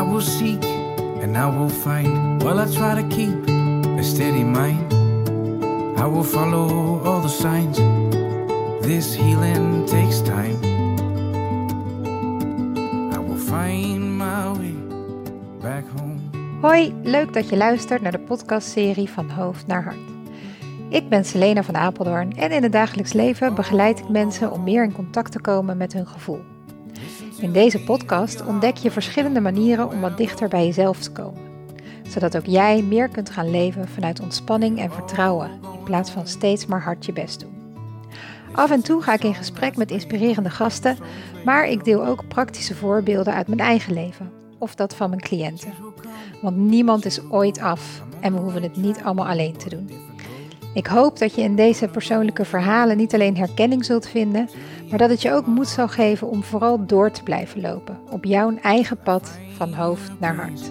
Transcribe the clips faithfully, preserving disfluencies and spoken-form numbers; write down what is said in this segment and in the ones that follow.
will seek and I will find. While I try to keep a steady mind, I will follow all the signs. This healing takes time. I will find my way back home. Hoi, leuk dat je luistert naar de podcastserie Van Hoofd naar Hart. Ik ben Selena van Apeldoorn en in het dagelijks leven begeleid ik mensen om meer in contact te komen met hun gevoel. In deze podcast ontdek je verschillende manieren om wat dichter bij jezelf te komen, zodat ook jij meer kunt gaan leven vanuit ontspanning en vertrouwen, in plaats van steeds maar hard je best doen. Af en toe ga ik in gesprek met inspirerende gasten, maar ik deel ook praktische voorbeelden uit mijn eigen leven, of dat van mijn cliënten. Want niemand is ooit af en we hoeven het niet allemaal alleen te doen. Ik hoop dat je in deze persoonlijke verhalen niet alleen herkenning zult vinden, maar dat het je ook moed zal geven om vooral door te blijven lopen op jouw eigen pad van hoofd naar hart.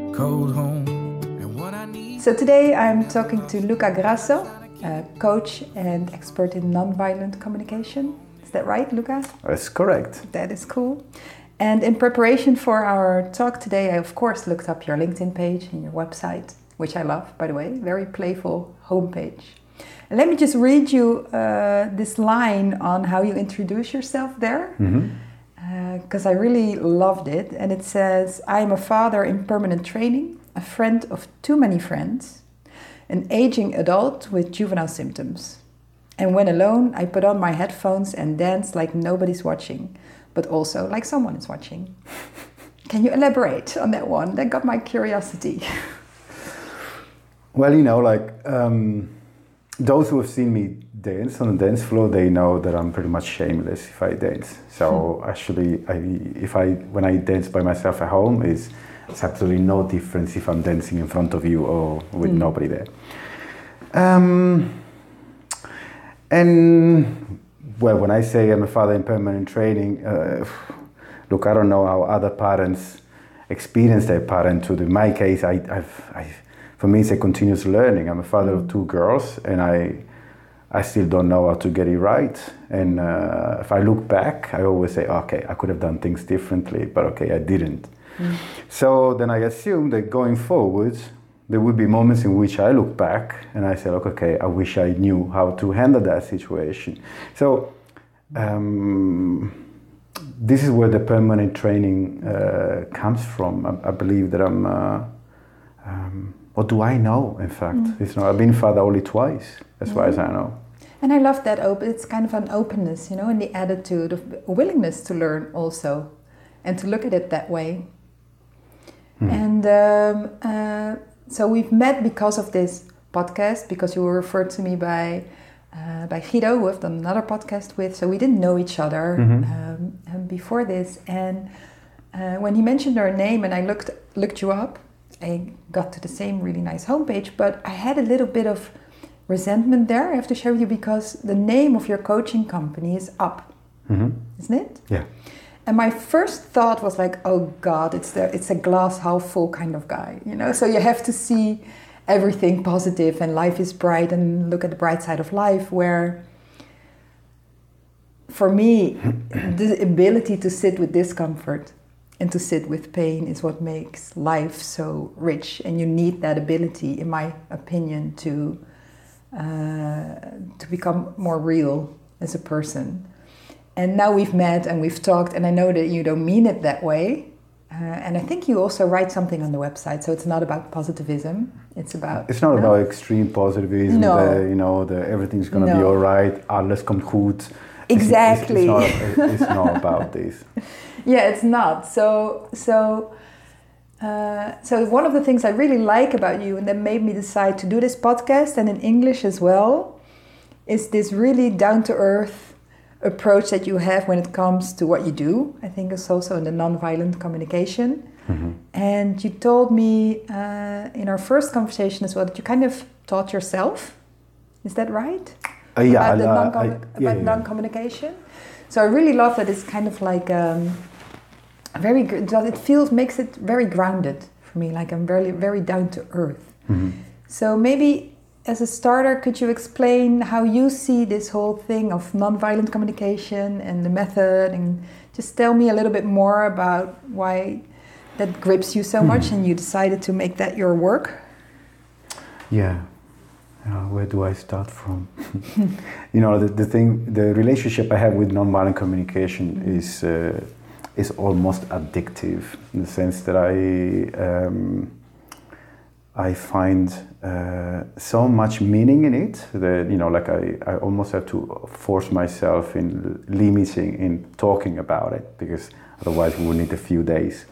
So today I'm talking to Luca Grasso, a coach and expert in nonviolent communication. Is that right, Luca? That's correct. That is cool. And in preparation for our talk today, I of course looked up your LinkedIn page and your website, which I love, by the way, very playful homepage. And let me just read you uh, this line on how you introduce yourself there, because mm-hmm. uh, I really loved it. And it says, I am a father in permanent training, a friend of too many friends, an aging adult with juvenile symptoms. And when alone, I put on my headphones and dance like nobody's watching, but also like someone is watching. Can you elaborate on that one? That got my curiosity. Well, you know, like um, those who have seen me dance on the dance floor, they know that I'm pretty much shameless if I dance. So hmm. actually, I, if I when I dance by myself at home, is it's absolutely no difference if I'm dancing in front of you or with mm. nobody there. Um, and well, when I say I'm a father in permanent training, uh, look, I don't know how other parents experience their parenthood. In my case, I, I've, I've for me, it's a continuous learning. I'm a father mm. of two girls, and I, I still don't know how to get it right. And uh, if I look back, I always say, okay, I could have done things differently, but okay, I didn't. Mm. So then I assume that going forward, there would be moments in which I look back and I say, okay, okay, I wish I knew how to handle that situation. So um, this is where the permanent training uh, comes from. I, I believe that I'm. Uh, um, What do I know, in fact? Mm. It's not, I've been father only twice, as yeah. far as I know. And I love that, op- it's kind of an openness, you know, and the attitude of willingness to learn also, and to look at it that way. Mm. And um, uh, so we've met because of this podcast, because you were referred to me by uh, by Guido, who I've done another podcast with, so we didn't know each other mm-hmm. um, before this. And uh, when he mentioned our name and I looked looked you up, I got to the same really nice homepage, but I had a little bit of resentment there, I have to share with you, because the name of your coaching company is Up, mm-hmm. isn't it? Yeah. And my first thought was like, oh God, it's the it's a glass half full kind of guy, you know? So you have to see everything positive and life is bright and look at the bright side of life, where for me, the ability to sit with discomfort and to sit with pain is what makes life so rich, and you need that ability, in my opinion, to uh, to become more real as a person. And now we've met and we've talked, and I know that you don't mean it that way. Uh, and I think you also write something on the website, so it's not about positivism. It's about. It's not no? about extreme positivism. No. The, you know, the everything's gonna no. be all right. Alles komt goed. Exactly. It's, it's, it's, not, it's not about this. Yeah, it's not. So, so, uh, so one of the things I really like about you, and that made me decide to do this podcast, and in English as well, is this really down-to-earth approach that you have when it comes to what you do. I think it's also in the nonviolent communication. Mm-hmm. And you told me uh, in our first conversation as well that you kind of taught yourself. Is that right? Uh, yeah, about the uh, non-com- I, yeah, about yeah. non-communication. So I really love that it's kind of like um, very. It feels makes it very grounded for me. Like I'm very very down to earth. Mm-hmm. So maybe as a starter, could you explain how you see this whole thing of non-violent communication and the method, and just tell me a little bit more about why that grips you so much, and you decided to make that your work? Yeah. Uh, where do I start from? You know, the, the thing, the relationship I have with nonviolent communication mm-hmm. is uh, is almost addictive, in the sense that I um, I find uh, so much meaning in it that, you know, like I, I almost have to force myself in limiting in talking about it, because otherwise we will need a few days.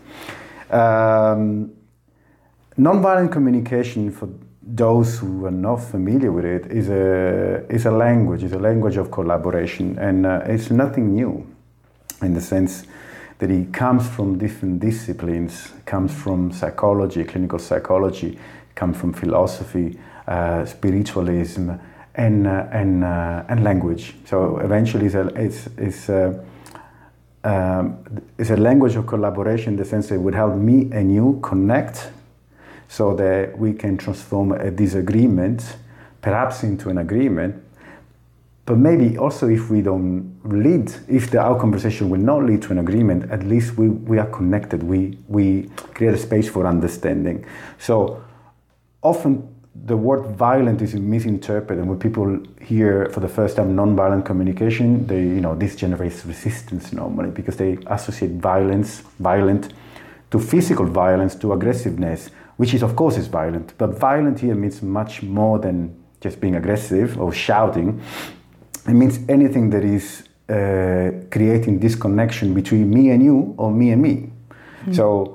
Um, nonviolent communication, for those who are not familiar with it, is a is a language. It's a language of collaboration, and uh, it's nothing new, in the sense that it comes from different disciplines. It comes from psychology, clinical psychology, it comes from philosophy, uh, spiritualism, and uh, and uh, and language. So eventually, it's a, it's it's a, um, it's a language of collaboration, in the sense that it would help me and you connect, so that we can transform a disagreement, perhaps into an agreement. But maybe also, if we don't lead, if the, our conversation will not lead to an agreement, at least we, we are connected. We we create a space for understanding. So often the word violent is misinterpreted, and when people hear for the first time nonviolent communication, they, you know, this generates resistance normally, because they associate violence, violent, to physical violence, to aggressiveness, which is, of course, is violent. But violent here means much more than just being aggressive or shouting. It means anything that is uh, creating disconnection between me and you, or me and me. Mm. So,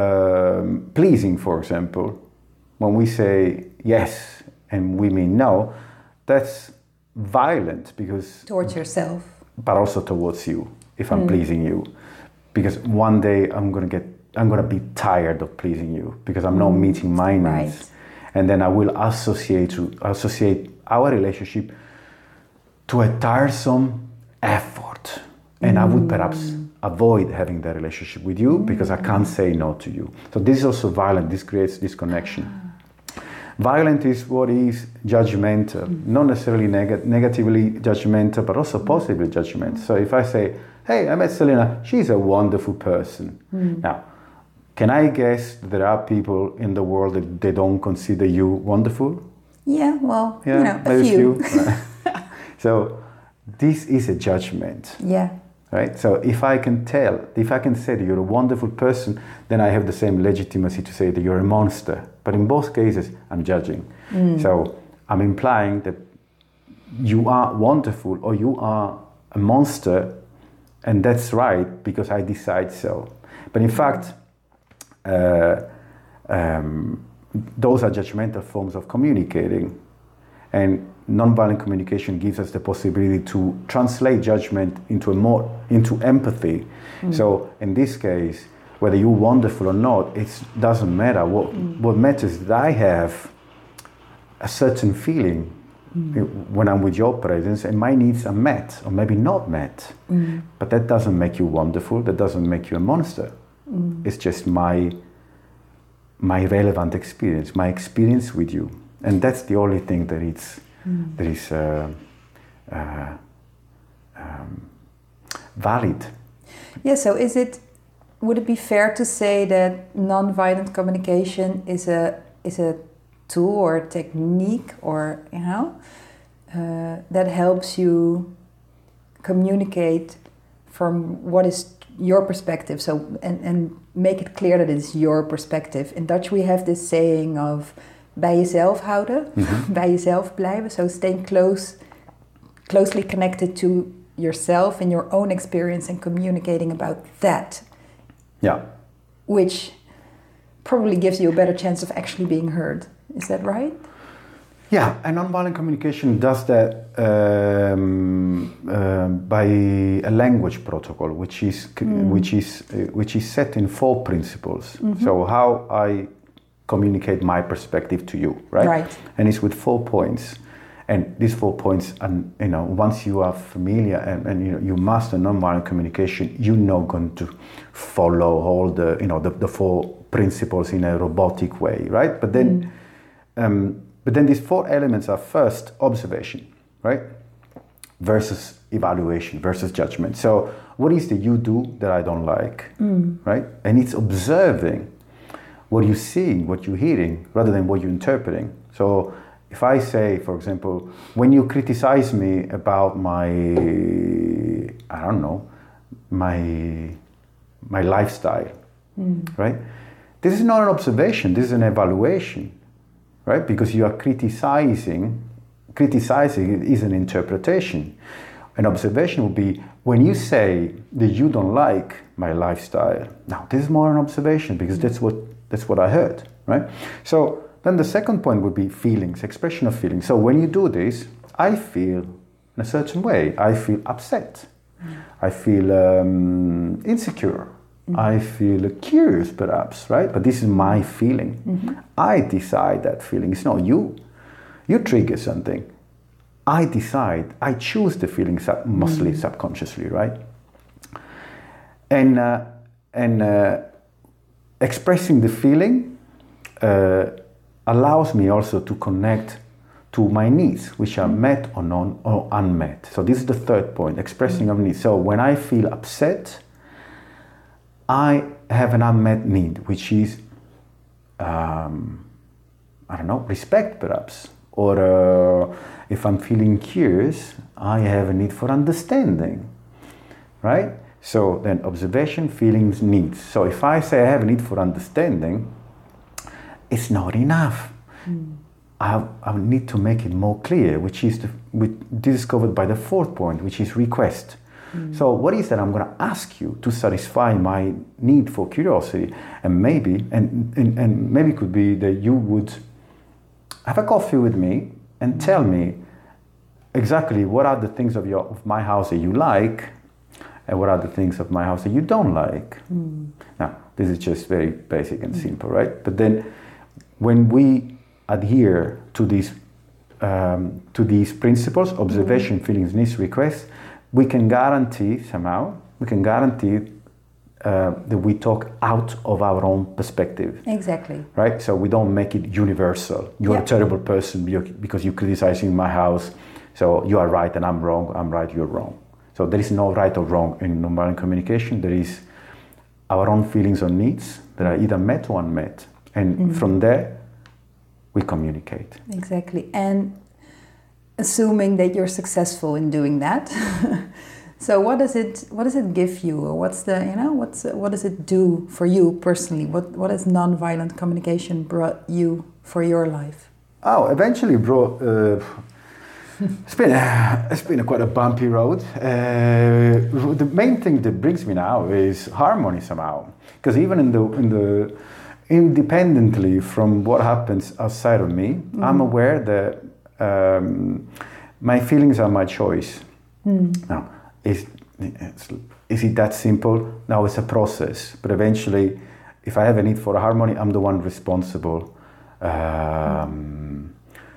um, pleasing, for example, when we say yes and we mean no, that's violent, because... Towards yourself. But also towards you, if I'm mm. pleasing you. Because one day I'm going to get, I'm going to be tired of pleasing you, because I'm mm. not meeting my needs. Right. And then I will associate to associate our relationship to a tiresome effort. And mm. I would perhaps avoid having that relationship with you, because I can't say no to you. So this is also violent. This creates disconnection. Violent is what is judgmental, mm. not necessarily neg- negatively judgmental, but also positively judgmental. So if I say, hey, I met Selena, she's a wonderful person. Mm. Now, can I guess that there are people in the world that they don't consider you wonderful? Yeah, well, yeah, you know, a maybe few. few. So this is a judgment. Yeah. Right? So if I can tell, if I can say that you're a wonderful person, then I have the same legitimacy to say that you're a monster. But in both cases, I'm judging. Mm. So I'm implying that you are wonderful or you are a monster, and that's right because I decide so. But in fact, uh, um, those are judgmental forms of communicating. And nonviolent communication gives us the possibility to translate judgment into a more into empathy. Mm. So in this case, whether you're wonderful or not, it doesn't matter. What mm. what matters is that I have a certain feeling mm. when I'm with your presence, and my needs are met, or maybe not met. Mm. But that doesn't make you wonderful. That doesn't make you a monster. Mm. It's just my my relevant experience, my experience with you. And that's the only thing that it's mm. that is uh, uh, um, valid. Yeah. So, is it? Would it be fair to say that nonviolent communication is a is a tool or a technique, or you know, uh, that helps you communicate from what is your perspective? So, and and make it clear that it's your perspective. In Dutch, we have this saying of bij jezelf houden, mm-hmm. bij jezelf blijven. So staying close, closely connected to yourself and your own experience and communicating about that. Yeah. Which probably gives you a better chance of actually being heard. Is that right? Yeah, and nonviolent communication does that um, uh, by a language protocol, which is mm. which is uh, which is set in four principles. Mm-hmm. So how I communicate my perspective to you, right? Right. And it's with four points. And these four points, and you know, once you are familiar and, and you know, you master nonviolent communication, you're not going to follow all the you know the, the four principles in a robotic way, right? But then, mm. um, but then these four elements are first observation, right? versus evaluation, versus judgment. So what is the you do that I don't like, Mm. right? And it's observing what you're seeing, what you're hearing, rather than what you're interpreting. So if I say, for example, when you criticize me about my, I don't know, my my lifestyle, Mm. right? This is not an observation, this is an evaluation, right? Because you are criticizing, criticizing is an interpretation. An observation would be when you say that you don't like my lifestyle. Now, this is more an observation because that's what that's what I heard, right? So then the second point would be feelings, expression of feelings. So when you do this, I feel in a certain way. I feel upset. I feel um, insecure. Mm-hmm. I feel curious, perhaps, right? But this is my feeling. Mm-hmm. I decide that feeling. It's not you. You trigger something. I decide. I choose the feeling, sub- mostly mm-hmm. subconsciously, right? And uh, and uh, expressing the feeling uh, allows me also to connect to my needs, which are met or non or unmet. So this is the third point, expressing of needs. So when I feel upset, I have an unmet need, which is, um, I don't know, respect perhaps. Or uh, if I'm feeling curious, I have a need for understanding, right? So then observation, feelings, needs. So if I say I have a need for understanding, it's not enough. Mm. I, I need to make it more clear, which is the, which, this is covered by the fourth point, which is request. Mm. So what is that I'm going to ask you to satisfy my need for curiosity? And maybe, and, and, and maybe it could be that you would have a coffee with me and tell me exactly what are the things of, your, of my house that you like and what are the things of my house that you don't like. Mm. Now, this is just very basic and mm. simple, right? But then when we adhere to these um, to these principles, observation, mm. feelings, needs, requests, we can guarantee somehow, we can guarantee uh, that we talk out of our own perspective. Exactly. Right? So we don't make it universal. You're yeah. a terrible person because you're criticizing my house. So you are right and I'm wrong, I'm right, you're wrong. So there is no right or wrong in nonviolent communication. There is our own feelings or needs that are either met or unmet. And mm-hmm. from there, we communicate. Exactly. And assuming that you're successful in doing that. So what does it what does it give you, or what's the you know what's what does it do for you personally? What what has nonviolent communication brought you for your life? Oh, eventually brought. Uh, it's been a, it's been a quite a bumpy road. Uh, the main thing that brings me now is harmony somehow, because even in the in the independently from what happens outside of me, mm-hmm. I'm aware that um, my feelings are my choice. Mm. Now, is is it that simple? No, it's a process. But eventually, if I have a need for harmony, I'm the one responsible um,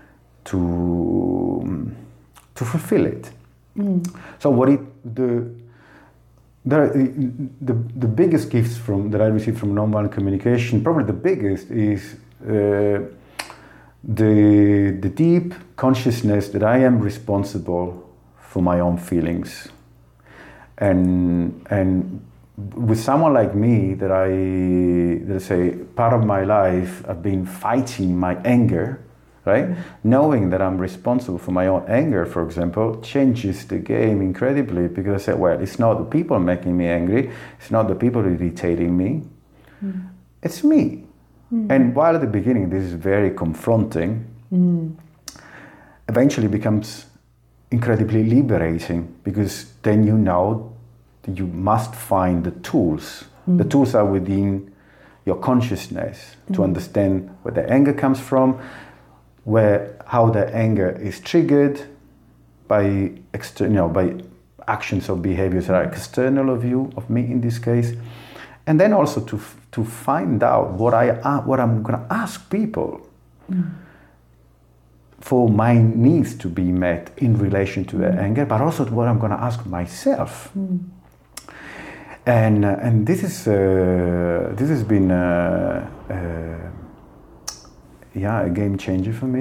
to to fulfill it. Mm. So what it the There, the the biggest gifts from that I received from nonviolent communication, probably the biggest, is uh, the the deep consciousness that I am responsible for my own feelings, and and with someone like me, that I that I say part of my life I've been fighting my anger. Right? Mm-hmm. Knowing that I'm responsible for my own anger, for example, changes the game incredibly, because I said, well, it's not the people making me angry, it's not the people irritating me, mm. it's me. Mm. And while at the beginning this is very confronting, mm. eventually it becomes incredibly liberating, because then you know that you must find the tools. Mm. The tools are within your consciousness mm. to understand where the anger comes from, where how the anger is triggered by exter- you know, by actions or behaviors that are external of you, of me in this case, and then also to f- to find out what I uh, what I'm going to ask people mm. for my needs to be met in relation to the mm. anger, but also what I'm going to ask myself. Mm. And uh, and this is uh, this has been. Uh, uh, Yeah, a game changer for me.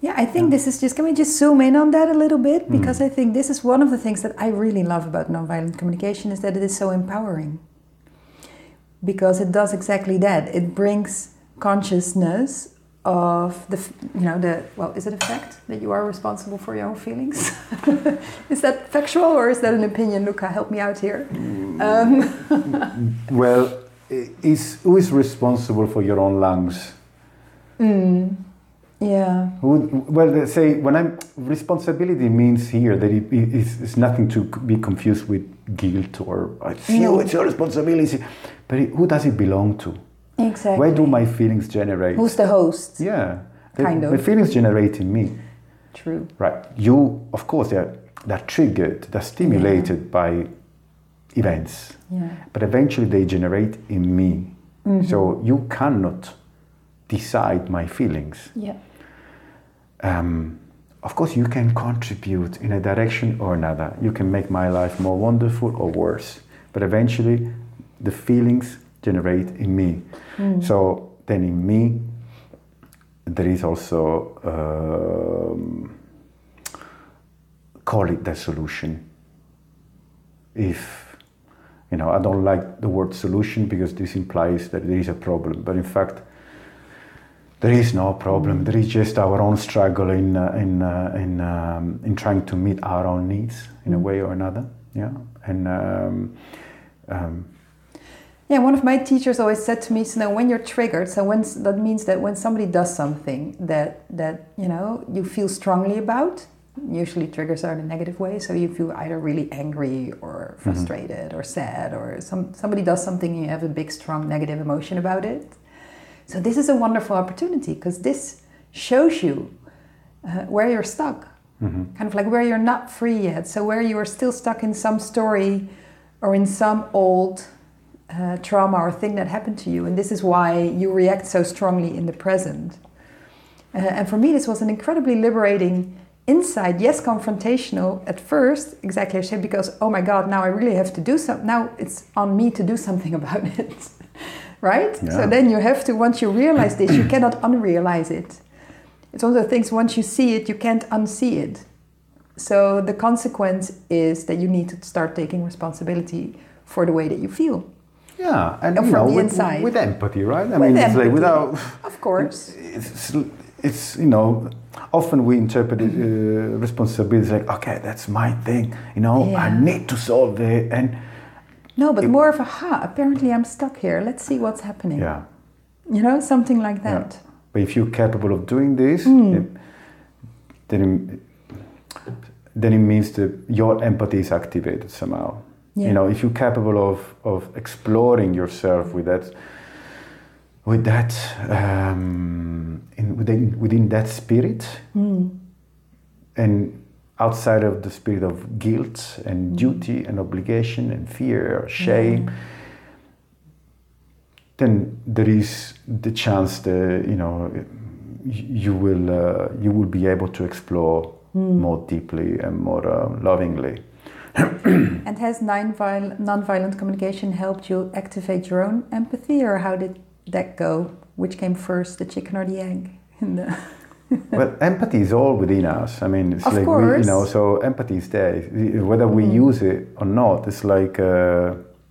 Yeah, I think Yeah. this is just, can we just zoom in on that a little bit? Because Mm. I think this is one of the things that I really love about nonviolent communication is that it is so empowering. Because it does exactly that. It brings consciousness of the, f- you know, the, well, is it a fact that you are responsible for your own feelings? Is that factual or is that an opinion? Luca, help me out here. Um, Well, i- is who is responsible for your own lungs? mm, yeah. Who, well, they say when I'm responsibility means here that it is it's nothing to be confused with guilt or it's you, No. it's your responsibility. But it, who does it belong to? Exactly. Where do my feelings generate? Who's the host? Yeah, the, Kind of. the feelings generate in me. True. Right. You, of course, they're they're triggered, they're stimulated by events, Yeah. but eventually they generate in me. Mhm. So you cannot decide my feelings. Yeah. Um, of course, you can contribute in a direction or another. You can make my life more wonderful or worse, but eventually the feelings generate in me. Mm. So then in me, there is also, um, call it the solution. If, you know, I don't like the word solution because this implies that there is a problem, but in fact, there is no problem. There is just our own struggle in uh, in uh, in um, in trying to meet our own needs in a Mm. way or another. Yeah, and um, um, Yeah, one of my teachers always said to me, so now when you're triggered, so when that means that when somebody does something that that you know you feel strongly about, usually triggers are in a negative way, so you feel either really angry or frustrated or sad, or some somebody does something and you have a big strong negative emotion about it. So this is a wonderful opportunity because this shows you uh, where you're stuck, mhm. kind of like where you're not free yet. So where you are still stuck in some story or in some old uh, trauma or thing that happened to you, and this is why you react so strongly in the present. Uh, and for me, this was an incredibly liberating insight. Yes, confrontational at first, exactly as I said, because oh my God, now I really have to do something. Now it's on me to do something about it. Right? Yeah. So then you have to, once you realize this, you cannot unrealize it. It's one of the things, once you see it, you can't unsee it. So the consequence is that you need to start taking responsibility for the way that you feel. Yeah, and And you from know, the with, inside. with empathy, right? I With mean, it's like empathy. without. Of course. It's, it's you know, often we interpret uh, responsibility like, okay, that's my thing. You know, Yeah. I need to solve it, and No, but more of a, ha, apparently I'm stuck here. Let's see what's happening. yeah. You know, something like Yeah. that. But if you're capable of doing this, Mm. it- then it, then it means that your empathy is activated somehow. Yeah. You know, if you're capable of of exploring yourself with that, with that, um, in, within within that spirit, Mm. and outside of the spirit of guilt and duty and obligation and fear or shame, Yeah. then there is the chance that you know you will uh, you will be able to explore Mm. more deeply and more uh, lovingly. And has non-violent, non-violent communication helped you activate your own empathy, or how did that go? Which came first, the chicken or the egg? In the Well, empathy is all within us. I mean, it's Of like we, course. you know. So empathy is there, whether we Mm. use it or not. It's like, uh,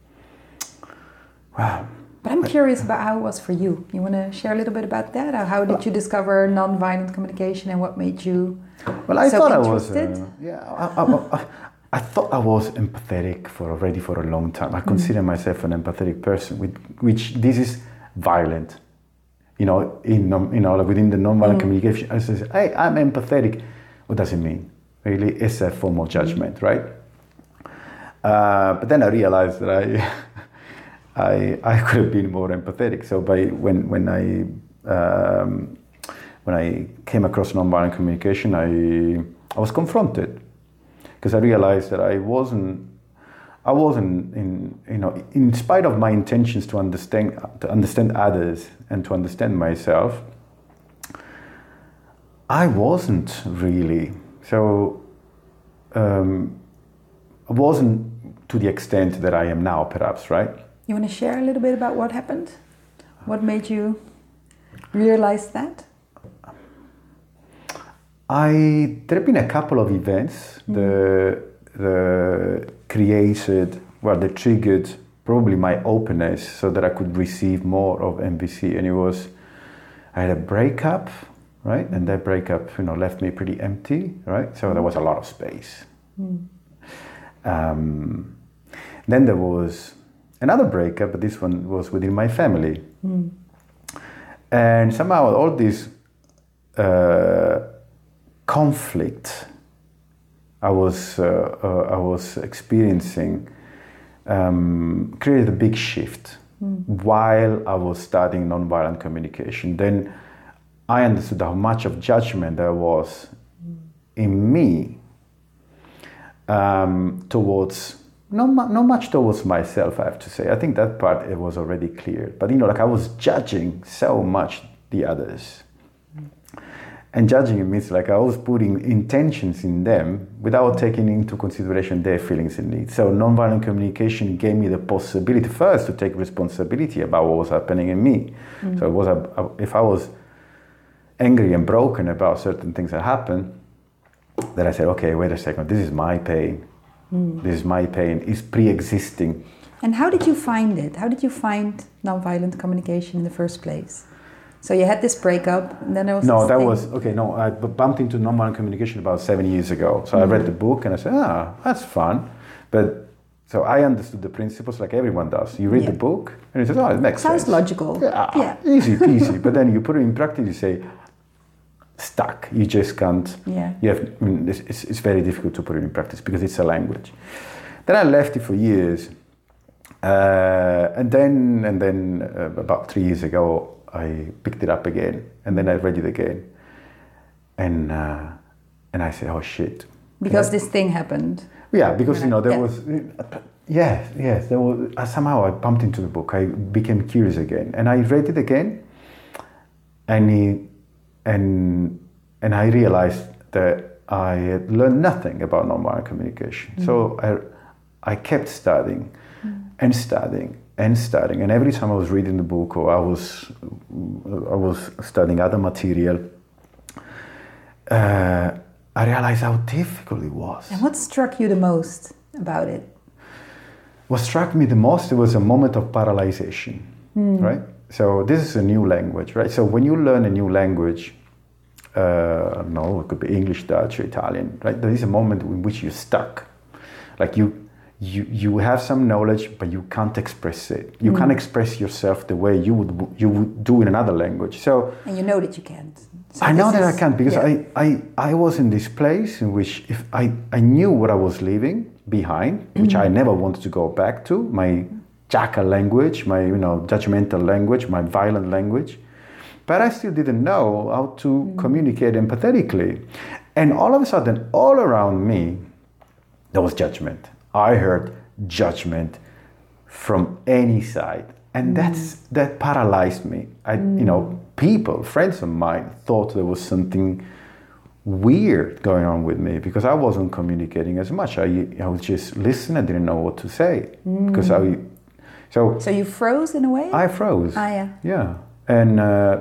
wow. But I'm curious about how it was for you. You want to share a little bit about that? Or how did you discover non-violent communication and what made you Well, I so thought I was. interested? Uh, yeah, I, I, I, I thought I was empathetic for already for a long time. I consider myself an empathetic person, with, which this is violent. You know, in non- you know, like within the non-violent Mm. communication, I say, "Hey, I'm empathetic." What does it mean? Really, it's a form of judgment, right? Uh, but then I realized that I, I, I could have been more empathetic. So by when when I um, when I came across nonviolent communication, I I was confronted because I realized that I wasn't I wasn't in you know in spite of my intentions to understand to understand others and to understand myself, I wasn't really so um, I wasn't to the extent that I am now, perhaps, right? You want to share a little bit about what happened? What made you realize that? I there have been a couple of events mm. the the created well they triggered probably my openness so that I could receive more of M V C, and it was I had a breakup, right, and that breakup you know left me pretty empty, right, so there was a lot of space. Mm. Um, then there was another breakup, but this one was within my family, mm. and somehow all this uh, conflict I was uh, uh, I was experiencing um, created a big shift mm. while I was studying nonviolent communication. Then I understood how much of judgment there was mm. in me um, towards not not much towards myself. I have to say. I think that part it was already clear. But you know, like I was judging so much the others. And judging it means like I was putting intentions in them without taking into consideration their feelings and needs. So nonviolent communication gave me the possibility first to take responsibility about what was happening in me. Mm-hmm. So it was a, a, if I was angry and broken about certain things that happened, then I said, okay, wait a second, this is my pain. Mm. This is my pain. It's pre-existing. And how did you find it? How did you find nonviolent communication in the first place? So you had this breakup, and then there was no. this That thing. was okay. No, I bumped into nonviolent communication about seven years ago. So mm-hmm. I read the book and I said, ah, that's fun. But so I understood the principles like everyone does. You read yeah. the book and you say, oh, it makes Sounds sense. Sounds logical. Yeah, yeah. easy peasy. But then you put it in practice. You say, stuck. You just can't. Yeah. You have. I mean, it's, it's, it's very difficult to put it in practice because it's a language. Then I left it for years, uh, and then and then uh, about three years ago. I picked it up again, and then I read it again, and uh, and I said, "Oh shit!" Because yeah. this thing happened. Yeah, because you know there yeah. was, yes, yes, there was uh, somehow I bumped into the book. I became curious again, and I read it again, and he, and and I realized that I had learned nothing about nonviolent communication. Mm. So I I kept studying, mm. and studying. and studying, and every time I was reading the book or I was I was studying other material, uh, I realized how difficult it was. And what struck you the most about it? What struck me the most, it was a moment of paralyzation, mm. right? So this is a new language, right? So when you learn a new language, uh, no, it could be English, Dutch, or Italian, right? There is a moment in which you're stuck, like you. You you have some knowledge, but you can't express it. You mm. can't express yourself the way you would you would do in another language. So and you know that you can't. So I know that is, I can't because yeah. I, I I was in this place in which if I, I knew what I was leaving behind, which mm-hmm. I never wanted to go back to, my jackal language, my you know judgmental language, my violent language, but I still didn't know how to mm. communicate empathetically, and all of a sudden, all around me, there was judgment. I heard judgment from any side, and mm. that's that paralyzed me. I, mm. you know, people, friends of mine, thought there was something weird going on with me because I wasn't communicating as much. I, I was just listening. I didn't know what to say mm. because I. So. So you froze in a way. I froze. Ah, yeah. Yeah, and uh,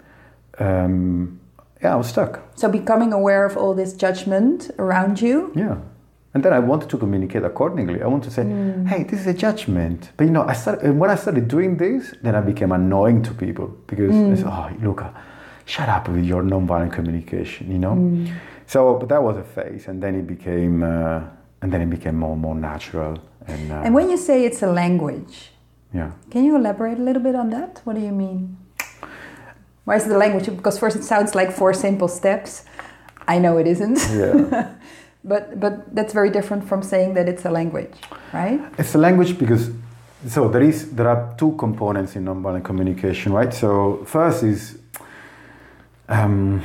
um, yeah, I was stuck. So becoming aware of all this judgment around you. Yeah. And then I wanted to communicate accordingly. I wanted to say, mm. hey, this is a judgment. But you know, I started, when I started doing this, then I became annoying to people because mm. they said, oh, Luca, shut up with your nonviolent communication, you know? Mm. So, but that was a phase. And then it became, uh, and then it became more and more natural. And, uh, and when you say it's a language, yeah, can you elaborate a little bit on that? What do you mean? Why is it a language? Because first it sounds like four simple steps. I know it isn't. Yeah. But but that's very different from saying that it's a language, right? It's a language because so there is there are two components in nonviolent communication, right? So first is um,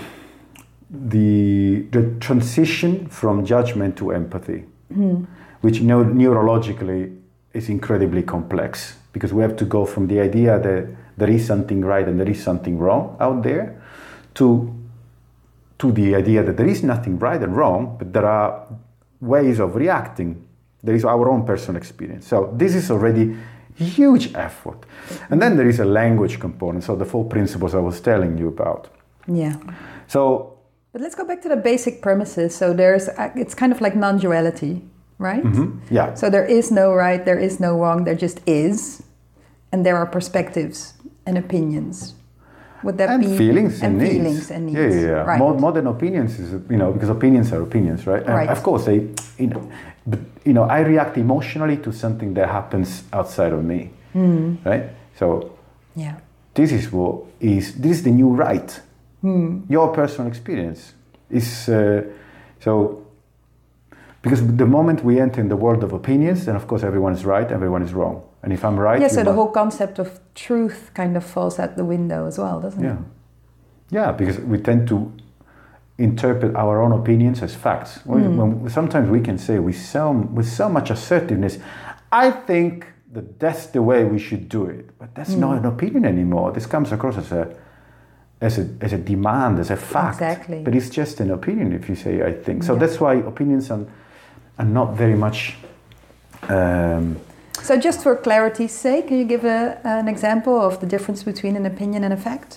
the the transition from judgment to empathy, mm. which you know, neurologically is incredibly complex because we have to go from the idea that there is something right and there is something wrong out there to to the idea that there is nothing right and wrong, but there are ways of reacting. There is our own personal experience. So this is already a huge effort. And then there is a language component, so the four principles I was telling you about. Yeah. So But let's go back to the basic premises. So there's, it's kind of like non-duality, right? Mm-hmm. Yeah. So there is no right, there is no wrong, there just is. And there are perspectives and opinions. Would that and be feelings and, and needs. feelings and needs? Yeah, yeah, yeah. Right. More, more than opinions is, you know, because opinions are opinions, right? And Right. of course, they, you know, but you know, I react emotionally to something that happens outside of me, Mm. right? So Yeah. this is what is this is the new right. Mm. Your personal experience is uh, so because the moment we enter in the world of opinions, then of course everyone is right, everyone is wrong. And if I'm right, Yeah, you so the might- whole concept of truth kind of falls out the window as well, doesn't yeah, it? yeah, because we tend to interpret our own opinions as facts. When, when sometimes we can say with so with so much assertiveness, I think that that's the way we should do it, but that's not an opinion anymore. This comes across as a as a as a demand, as a fact. Exactly. But it's just an opinion if you say I think. So Yeah. that's why opinions are, are not very much. Um, So just for clarity's sake, can you give a, an example of the difference between an opinion and a fact?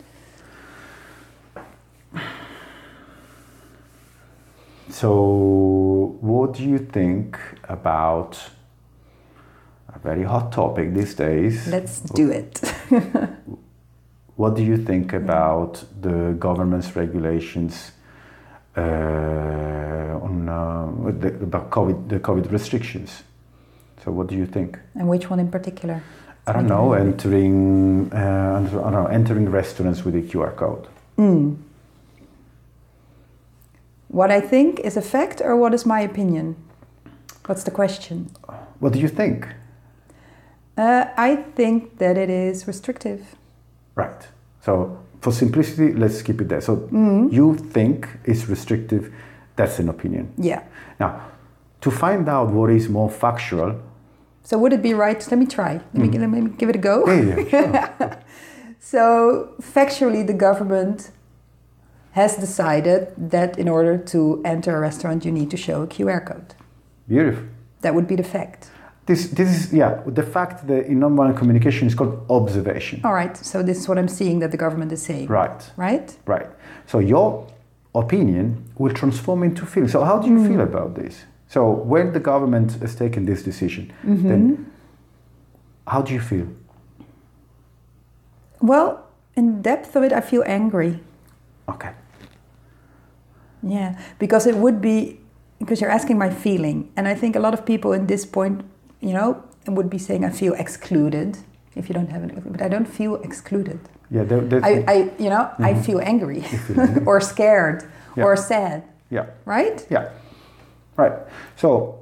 So, what do you think about a very hot topic these days? Let's do it. What do you think about the government's regulations uh, on uh, with the, about COVID, the COVID restrictions? So, what do you think? And which one in particular? I don't know. Entering, uh, I don't know, entering restaurants with a Q R code. Mm. What I think is a fact, or what is my opinion? What's the question? What do you think? Uh, I think that it is restrictive. Right. So for simplicity, let's keep it there. So Mm. you think it's restrictive. That's an opinion. Yeah. Now, to find out what is more factual. So would it be right? Let me try. Let me, let me give it a go. Yeah, yeah, sure. So factually, the government has decided that in order to enter a restaurant, you need to show a Q R code. Beautiful. That would be the fact. This, this is, yeah, the fact that in nonviolent communication is called observation. All right. So this is what I'm seeing that the government is saying. Right, Right? right. So your opinion will transform into feeling. So how do you Mm. feel about this? So when the government has taken this decision, Mm-hmm. then how do you feel? Well, in depth of it, I feel angry. Okay. Yeah, because it would be, because you're asking my feeling. And I think a lot of people in this point, you know, would be saying, I feel excluded if you don't have it. But I don't feel excluded. Yeah, that, that's, I, I you know, I feel angry feel angry. or scared Yeah. or sad, yeah. right? Yeah, right. So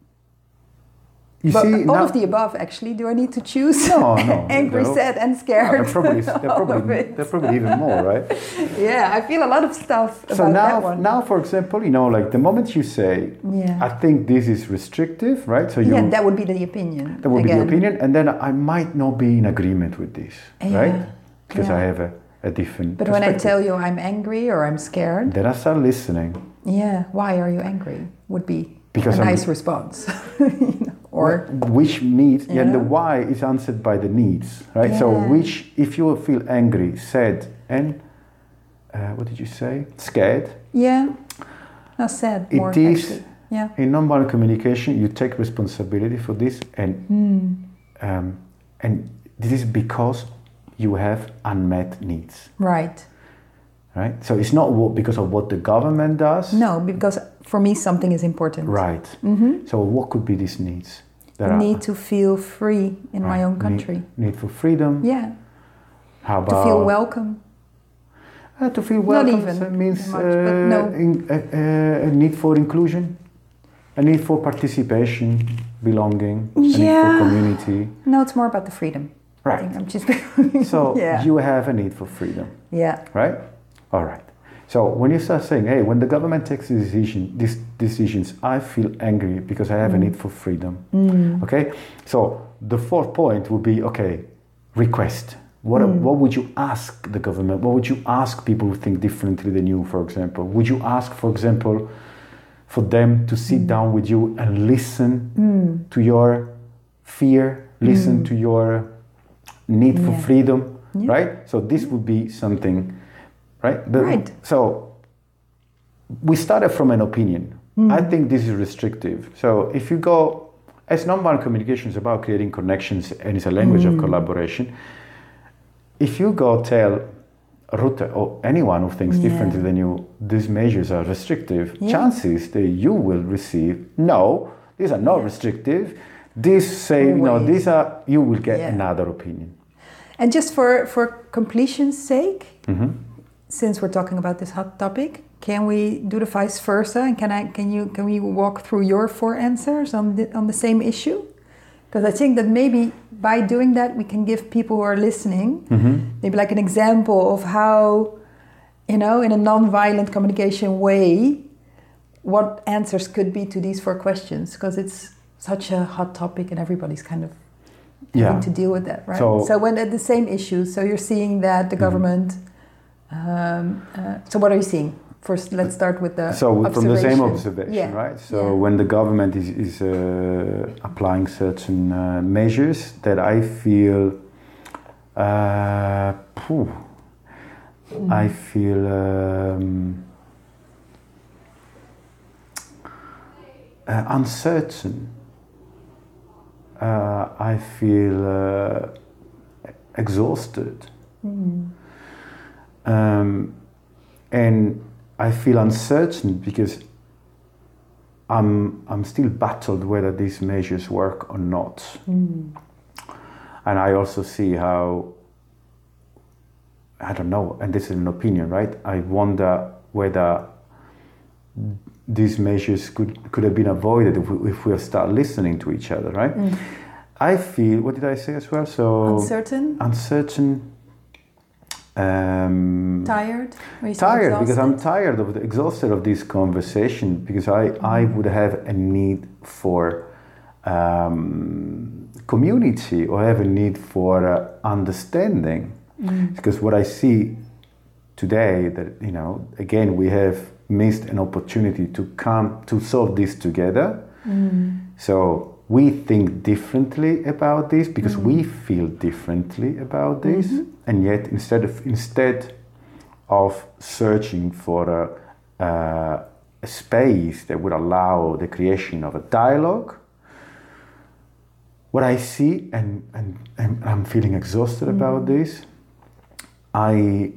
you But see, all now, of the above, actually. Do I need to choose? No, no, Angry, no. sad, and Ah, scared. they're probably they're All of probably it. they're probably even more, right? Yeah, I feel a lot of stuff about So now, that one. now, for example, you know, like the moment you say, Yeah. I think this is restrictive, right? So you yeah, that would be the opinion. that would be again. the opinion, and then I might not be in agreement with this, Yeah, right? Because yeah. I have a, a different. But when I perspective. tell you I'm angry or I'm scared, then I start listening. yeah, why are you angry? Would be Because a I'm- nice response. You know, or which needs, You and the know? why is answered by the needs, right? So Yeah. which, if you feel angry, sad, and uh, what did you say? Scared. yeah, not sad. It More is- actually. Yeah. In nonviolent communication, you take responsibility for this, and Hmm. um, and this is because you have unmet needs, Right. right? So it's not what, because of what the government does, No, because for me something is important. right? Mm-hmm. So what could be these needs? That are- Need to feel free in my right, own need- country. Need, for freedom. Yeah. How To about feel welcome. Uh, to feel Not welcome even so it means much, uh, but no. in, uh, uh, a need for inclusion, a need for participation, belonging, a need for Yeah. community. No, it's more about the freedom. I Right. think I'm just. So yeah. you have a need for freedom, Yeah. right? All right. So when you start saying, "Hey, when the government takes a decision, these decisions, I feel angry because I have a need for freedom." Mm. Okay. So the fourth point would be, okay, request. What, Mm. what would you ask the government? What would you ask people who think differently than you, for example? Would you ask, for example, for them to sit Mm. down with you and listen Mm. to your fear, listen Mm. to your need for Yeah. freedom, Yeah. right? So this would be something, right? The- Right. So we started from an opinion. Mm. I think this is restrictive. So if you go, as nonviolent communication is about creating connections and it's a language mm. of collaboration, if you go tell Ruth or anyone who thinks yeah. differently than you, these measures are restrictive, yeah. chances that you will receive, no, these are not yeah. restrictive, these say, Always. no, these are, you will get yeah. another opinion. And just for, for completion's sake, mm-hmm. since we're talking about this hot topic, can we do the vice versa? And can I, can you, can we walk through your four answers on the, on the same issue? Because I think that maybe by doing that, we can give people who are listening, mm-hmm. maybe like an example of how, you know, in a non-violent communication way, what answers could be to these four questions. Because it's such a hot topic and everybody's kind of yeah. having to deal with that, right? So, so when at the same issue, so you're seeing that the government, mm-hmm. um, uh, so what are you seeing? First, let's start with the So from the same observation, yeah. right? So yeah. when the government is, is uh, applying certain uh, measures that I feel, uh, phew, mm. I feel um, uh, uncertain. Uh, I feel uh, exhausted. Mm. Um, and I feel uncertain because I'm I'm still battled whether these measures work or not. Mm. And I also see how, I don't know, and this is an opinion, right? I wonder whether these measures could, could have been avoided if we, if we start listening to each other, right? Mm. I feel, what did I say as well? So uncertain? Uncertain. Um, tired? Tired because I'm tired of the, exhausted of this conversation because I, mm. I would have a need for um, community or have a need for uh, understanding mm. because what I see today that, you know, again, we have missed an opportunity to come to solve this together. Mm. So we think differently about this because mm. we feel differently about this, mm-hmm. and yet instead of instead of searching for a, uh, a space that would allow the creation of a dialogue, what I see, and, and, and I'm feeling exhausted mm. about this, I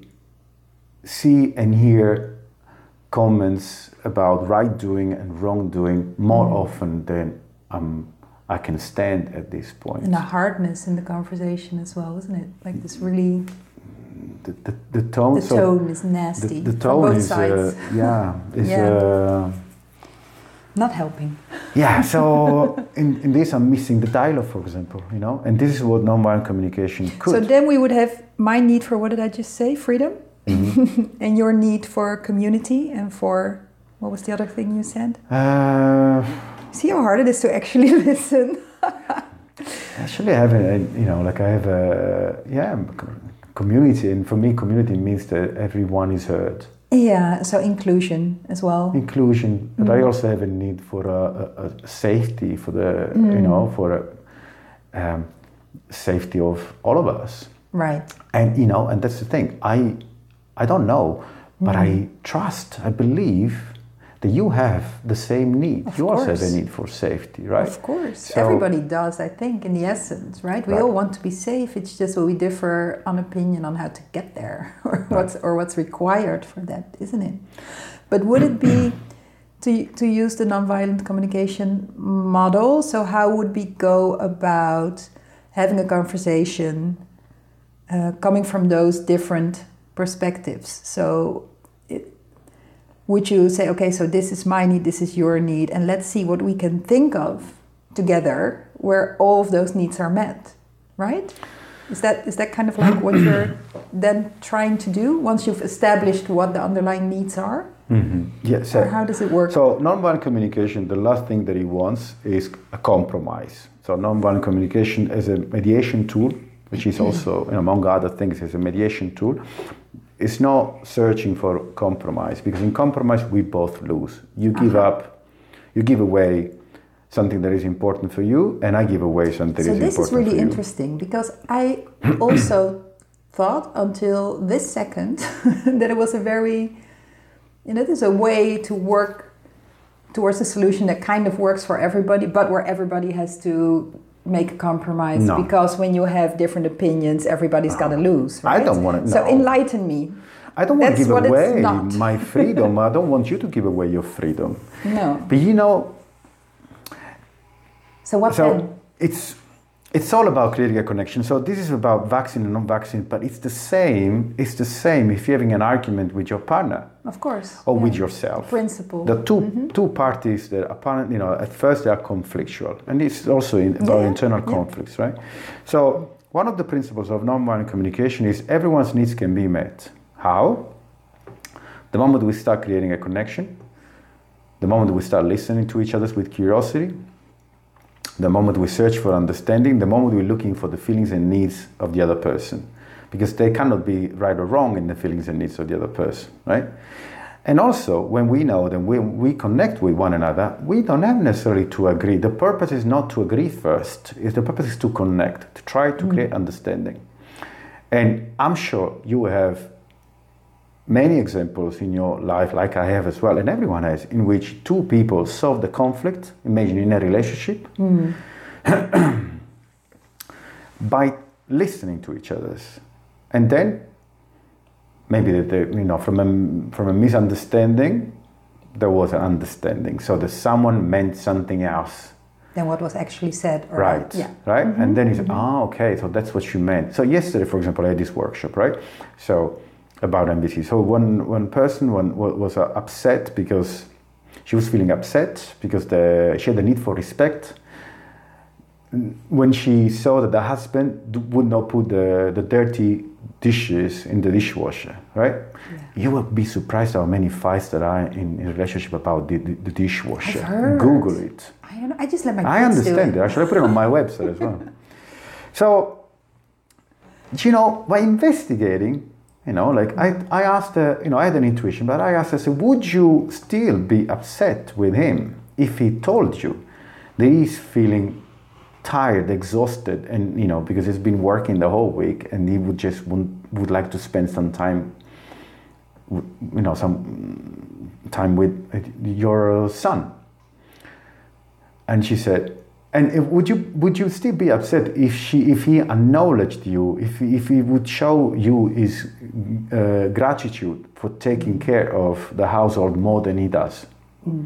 see and hear comments about right doing and wrong doing more mm. often than um, I can stand at this point. And a hardness in the conversation as well, isn't it? Like this really... The, the, the tone, the so tone is nasty. The, the tone from both is, sides. Uh, yeah, is yeah. Uh, not helping. Yeah, so in, in this I'm missing the dialogue, for example, you know, and this is what nonviolent communication could. So then we would have my need for, what did I just say, freedom, mm-hmm. and your need for community and for, what was the other thing you said? Uh, See how hard it is to actually listen. Actually, I have a, you know, like I have a, yeah, community, and for me, community means that everyone is heard. Yeah, so inclusion as well. Inclusion, but mm. I also have a need for a, a, a safety, for the, mm. you know, for a um, safety of all of us. Right. And, you know, and that's the thing, I, I don't know, but mm. I trust, I believe that you have the same need. Of you course. also have a need for safety, right? Of course. So, everybody does, I think, in the essence, right? We right. all want to be safe. It's just we differ on opinion on how to get there or right. what's or what's required for that, isn't it? But would it be to to use the nonviolent communication model? So how would we go about having a conversation uh, coming from those different perspectives? So would you say, okay, so this is my need, this is your need, and let's see what we can think of together where all of those needs are met, right? Is that is that kind of like what you're then trying to do once you've established what the underlying needs are? Mm-hmm. Yes. Yeah, so, or how does it work? So nonviolent communication, the last thing that it wants is a compromise. So nonviolent communication as a mediation tool, which is also, you know, among other things, is a mediation tool. It's not searching for compromise, because in compromise we both lose. You give uh-huh. up, you give away something that is important for you, and I give away something so that is important for you. So this is really interesting, because I also thought until this second that it was a very you know, there's a way to work towards a solution that kind of works for everybody, but where everybody has to make a compromise. No. Because when you have different opinions, everybody's No. got to lose, right? I don't want to. So no. enlighten me. I don't want to That's give what it's away not. my freedom. I don't want you to give away your freedom. No. But you know, So what so then? it's it's all about creating a connection. So this is about vaccine and non-vaccine, but it's the same. It's the same if you're having an argument with your partner Of course. or yeah. with yourself. Principle. The two Mhm. two parties that apparently, you know, at first they are conflictual, and it's also in, about Yeah, internal yeah. conflicts, right? So one of the principles of nonviolent communication is everyone's needs can be met. How? The moment we start creating a connection, the moment we start listening to each other with curiosity, the moment we search for understanding, the moment we're looking for the feelings and needs of the other person, because they cannot be right or wrong in the feelings and needs of the other person, right? And also, when we know that we, we connect with one another, we don't have necessarily to agree. The purpose is not to agree first. Is the purpose is to connect, to try to create understanding. And I'm sure you have many examples in your life, like I have as well, and everyone has, in which two people solve the conflict, imagine in a relationship, Mm. by listening to each other. And then, maybe that they, you know, from a, from a misunderstanding, there was an understanding. So that someone meant something else. Than what was actually said. Or Right, Yeah. right? Mhm, And then you say, mhm. ah, okay, so that's what you meant. So yesterday, for example, I had this workshop, right? So, about M B T. So one, one person one, was uh, upset because she was feeling upset because the, she had the need for respect when she saw that the husband d- would not put the, the dirty dishes in the dishwasher, right? Yeah. You would be surprised how many fights there are in, in a relationship about the, the, the dishwasher. I've heard. Google it. I don't know. I just let my I kids understand do it. it. Actually, I put it on my website as well. So, you know, by investigating, you know, like I, I asked her, you know, I had an intuition, but I asked her, so would you still be upset with him if he told you that he's feeling tired, exhausted, and, you know, because he's been working the whole week and he would just would, would like to spend some time, you know, some time with your son? And she said, and if, would you would you still be upset if she if he acknowledged you, if if he would show you his uh, gratitude for taking care of the household more than he does? Mm.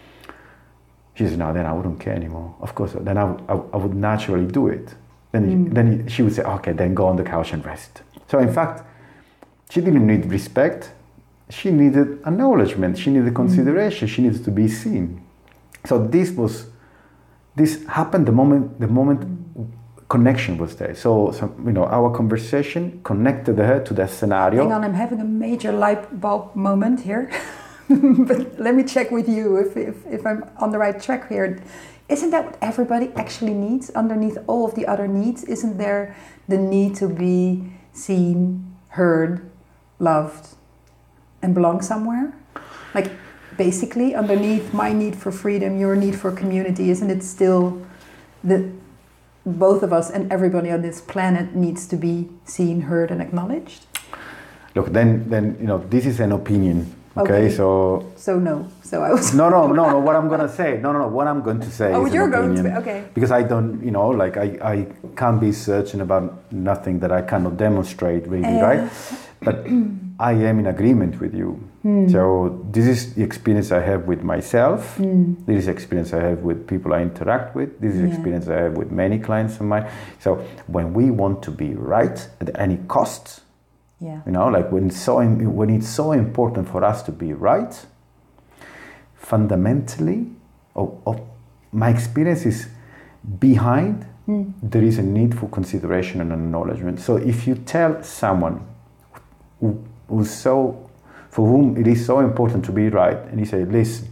She said, no, then I wouldn't care anymore. Of course, then I, I, I would naturally do it. Then Mm. then she would say, okay, then go on the couch and rest. So in fact, she didn't need respect. She needed acknowledgement. She needed consideration. She needed to be seen. So this was. This happened the moment the moment connection was there. So, so, you know, our conversation connected her to that scenario. Hang on, I'm having a major light bulb moment here. But let me check with you if, if, if I'm on the right track here. Isn't that what everybody actually needs underneath all of the other needs? Isn't there the need to be seen, heard, loved, and belong somewhere? Like, basically, underneath my need for freedom, your need for community, isn't it still that both of us and everybody on this planet needs to be seen, heard, and acknowledged? Look, then, then you know, this is an opinion. Okay, Okay. so So no. So I was. no, no, no, no. What I'm gonna say, no, no, no. What I'm going to say Oh, is you're an going to. opinion. Okay. Because I don't, you know, like I, I can't be certain about nothing that I cannot demonstrate, really, Uh, right? But I am in agreement with you. Hmm. So this is the experience I have with myself. Mm. This is the experience I have with people I interact with. This is the Yeah. experience I have with many clients of mine. So when we want to be right at any cost, Yeah. you know, like when it's so when it's so important for us to be right, fundamentally, of, of my experience is behind Mm. there is a need for consideration and acknowledgement. So if you tell someone who, who's so, for whom it is so important to be right, and you say, listen,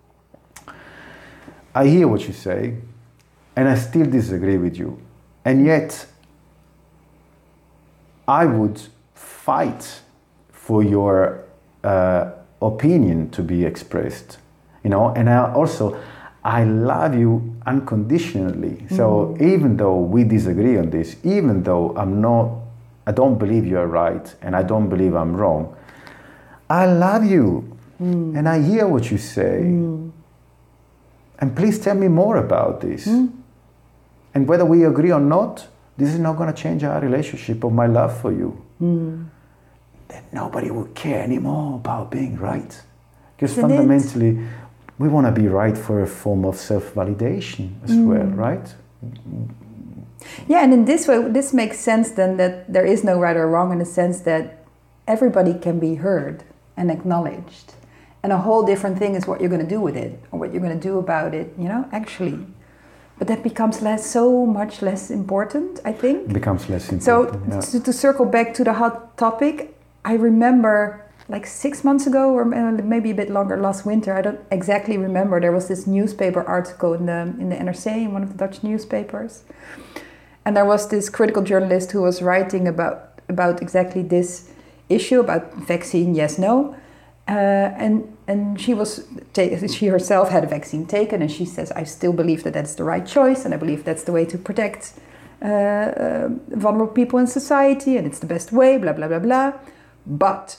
I hear what you say, and I still disagree with you, and yet I would fight for your uh, opinion to be expressed, you know, and I also, I love you unconditionally. So even though we disagree on this, even though I'm not, I don't believe you're right, and I don't believe I'm wrong, I love you mm. and I hear what you say. Mm. And please tell me more about this. Mm. And whether we agree or not, this is not going to change our relationship or my love for you. Mm. Then nobody will care anymore about being right. Because Isn't fundamentally, it? we want to be right for a form of self-validation as mm. well, right? Yeah, and in this way, this makes sense then that there is no right or wrong in the sense that everybody can be heard and acknowledged. And a whole different thing is what you're going to do with it or what you're going to do about it, you know, actually. But that becomes less, so much less important, I think. It becomes less important. So yeah. to, to circle back to the hot topic, I remember like six months ago or maybe a bit longer, last winter, I don't exactly remember, there was this newspaper article in the in the N R C, in one of the Dutch newspapers. And there was this critical journalist who was writing about, about exactly this issue, about vaccine, yes, no. Uh, and and she was ta- she herself had a vaccine taken, and she says, I still believe that that's the right choice, and I believe that's the way to protect uh, uh, vulnerable people in society, and it's the best way, blah, blah, blah, blah. But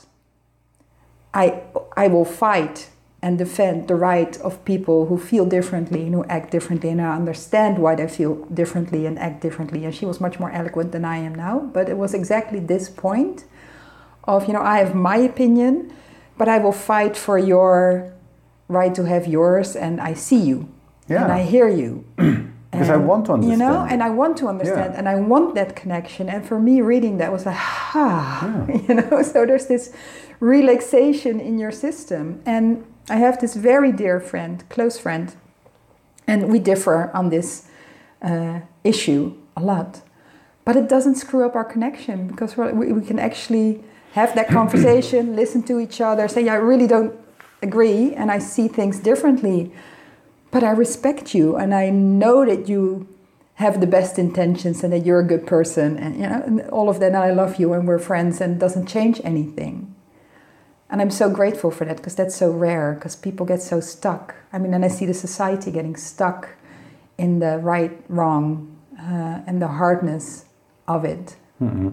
I I will fight and defend the right of people who feel differently and who act differently, and I understand why they feel differently and act differently. And she was much more eloquent than I am now, but it was exactly this point of, you know, I have my opinion, but I will fight for your right to have yours, and I see you, yeah. and I hear you. Because I want to understand. You know, and I want to understand, yeah. and I want that connection. And for me, reading that was like, ah, yeah. you know, so there's this relaxation in your system. And I have this very dear friend, close friend, and we differ on this uh, issue a lot. But it doesn't screw up our connection, because we, we can actually have that conversation, listen to each other, say, yeah, I really don't agree, and I see things differently. But I respect you, and I know that you have the best intentions and that you're a good person, and you know, and all of that, and I love you, and we're friends, and it doesn't change anything. And I'm so grateful for that, because that's so rare, because people get so stuck. I mean, and I see the society getting stuck in the right, wrong, uh, and the hardness of it. Mm-hmm.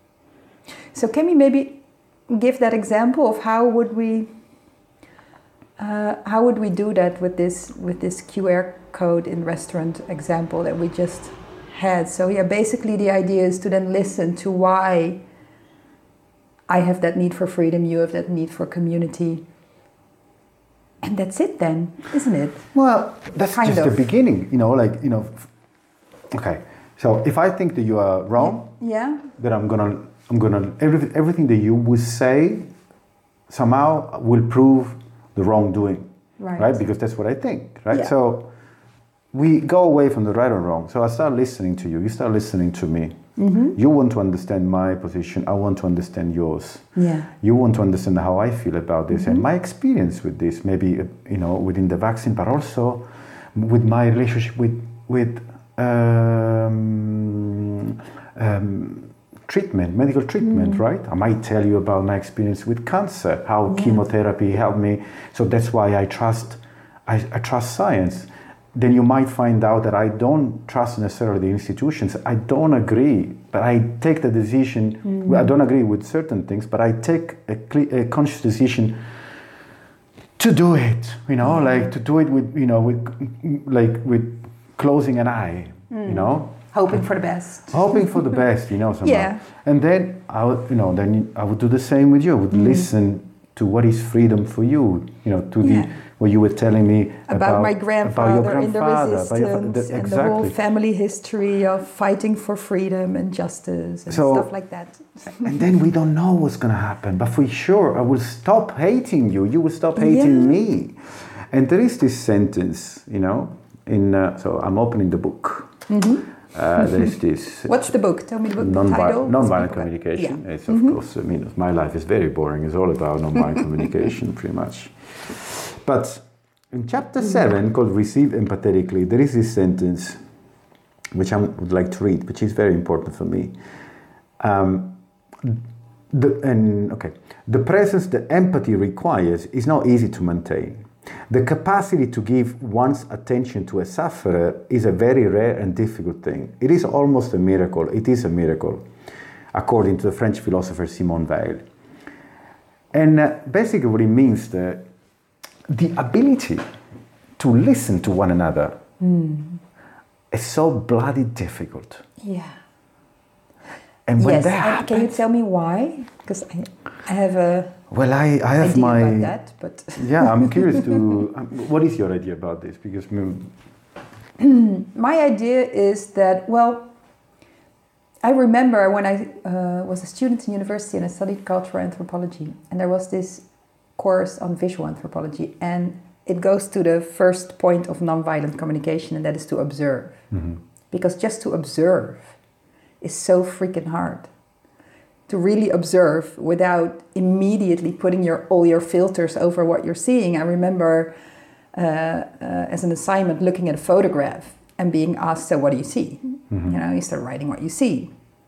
So can we maybe give that example of how would we uh, how would we do that with this with this Q R code in restaurant example that we just had? So yeah, basically the idea is to then listen to why I have that need for freedom, you have that need for community. And that's it then, isn't it? Well, that's kind just of. the beginning, you know, like, you know, okay. So if I think that you are wrong, yeah, then I'm gonna, I'm gonna, every, everything that you will say somehow will prove the wrongdoing, right? right? Because that's what I think, right? Yeah. So we go away from the right or wrong. So I start listening to you, you start listening to me. Mm-hmm. You want to understand my position, I want to understand yours. Yeah. You want to understand how I feel about this, mm-hmm. and my experience with this, maybe, you know, within the vaccine, but also with my relationship with, with um, um, treatment, medical treatment, mm-hmm. right? I might tell you about my experience with cancer, how yeah. chemotherapy helped me. So that's why I trust, I, I trust science. Then you might find out that I don't trust necessarily the institutions. I don't agree, but I take the decision. Mm-hmm. I don't agree with certain things, but I take a, cle- a conscious decision to do it. You know, mm-hmm. like to do it with, you know, with like with closing an eye. Mm. You know, hoping for the best. Hoping for the best. You know, somehow. Yeah. And then I would, you know, then I would do the same with you. I would mm. listen to what is freedom for you. You know, to yeah. the. What you were telling me about, about my grandfather, about your grandfather in the resistance, your, the, exactly. and the whole family history of fighting for freedom and justice and so, stuff like that. And then we don't know what's going to happen, but for sure I will stop hating you, you will stop hating yeah. me. And there is this sentence, you know, in uh, so I'm opening the book. Mm-hmm. Uh, there's this. What's the book? Tell me the book. Non-vi- title. Nonviolent communication. Yeah. It's of mm-hmm. course. I mean, my life is very boring. It's all about nonviolent communication, pretty much. But in chapter mm-hmm. seven, called "Receive Empathetically," there is this sentence, which I would like to read, which is very important for me. Um, the, and okay, the presence that empathy requires is not easy to maintain. The capacity to give one's attention to a sufferer is a very rare and difficult thing. It is almost a miracle. It is a miracle, according to the French philosopher Simone Weil. And uh, basically what it means that the ability to listen to one another mm. is so bloody difficult. Yeah. And when yes. that And happens, can you tell me why? Because I, I have a well, I, I have idea my about that, but yeah. I'm curious to. Um, what is your idea about this? Because mm, my idea is that, well, I remember when I uh, was a student in university and I studied cultural anthropology, and there was this course on visual anthropology, and it goes to the first point of nonviolent communication, and that is to observe. mm-hmm. Because just to observe is so freaking hard. To really observe without immediately putting your all your filters over what you're seeing. I remember uh, uh, as an assignment looking at a photograph and being asked, so what do you see? Mm-hmm. You know, you start writing what you see.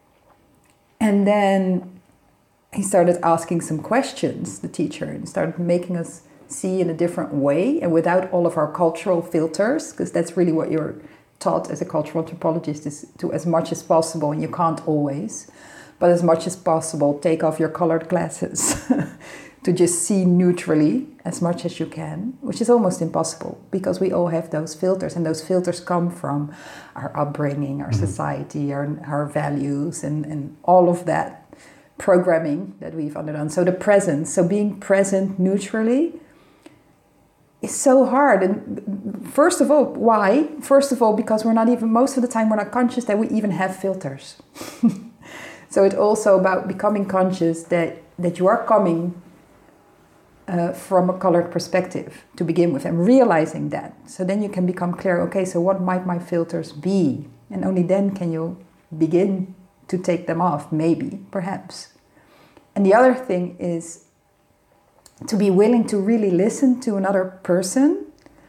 And then he started asking some questions, the teacher, and started making us see in a different way and without all of our cultural filters, because that's really what you're taught as a cultural anthropologist, is to, as much as possible, and you can't always, but as much as possible, take off your colored glasses to just see neutrally as much as you can, which is almost impossible because we all have those filters, and those filters come from our upbringing, our mm-hmm. society, our, our values, and, and all of that programming that we've undergone. So the presence, so being present neutrally is so hard. And first of all, why? First of all, because we're not even, most of the time we're not conscious that we even have filters. So it's also about becoming conscious that, that you are coming uh, from a colored perspective to begin with, and realizing that. So then you can become clear, okay, so what might my filters be? And only then can you begin to take them off, maybe, perhaps. And the other thing is to be willing to really listen to another person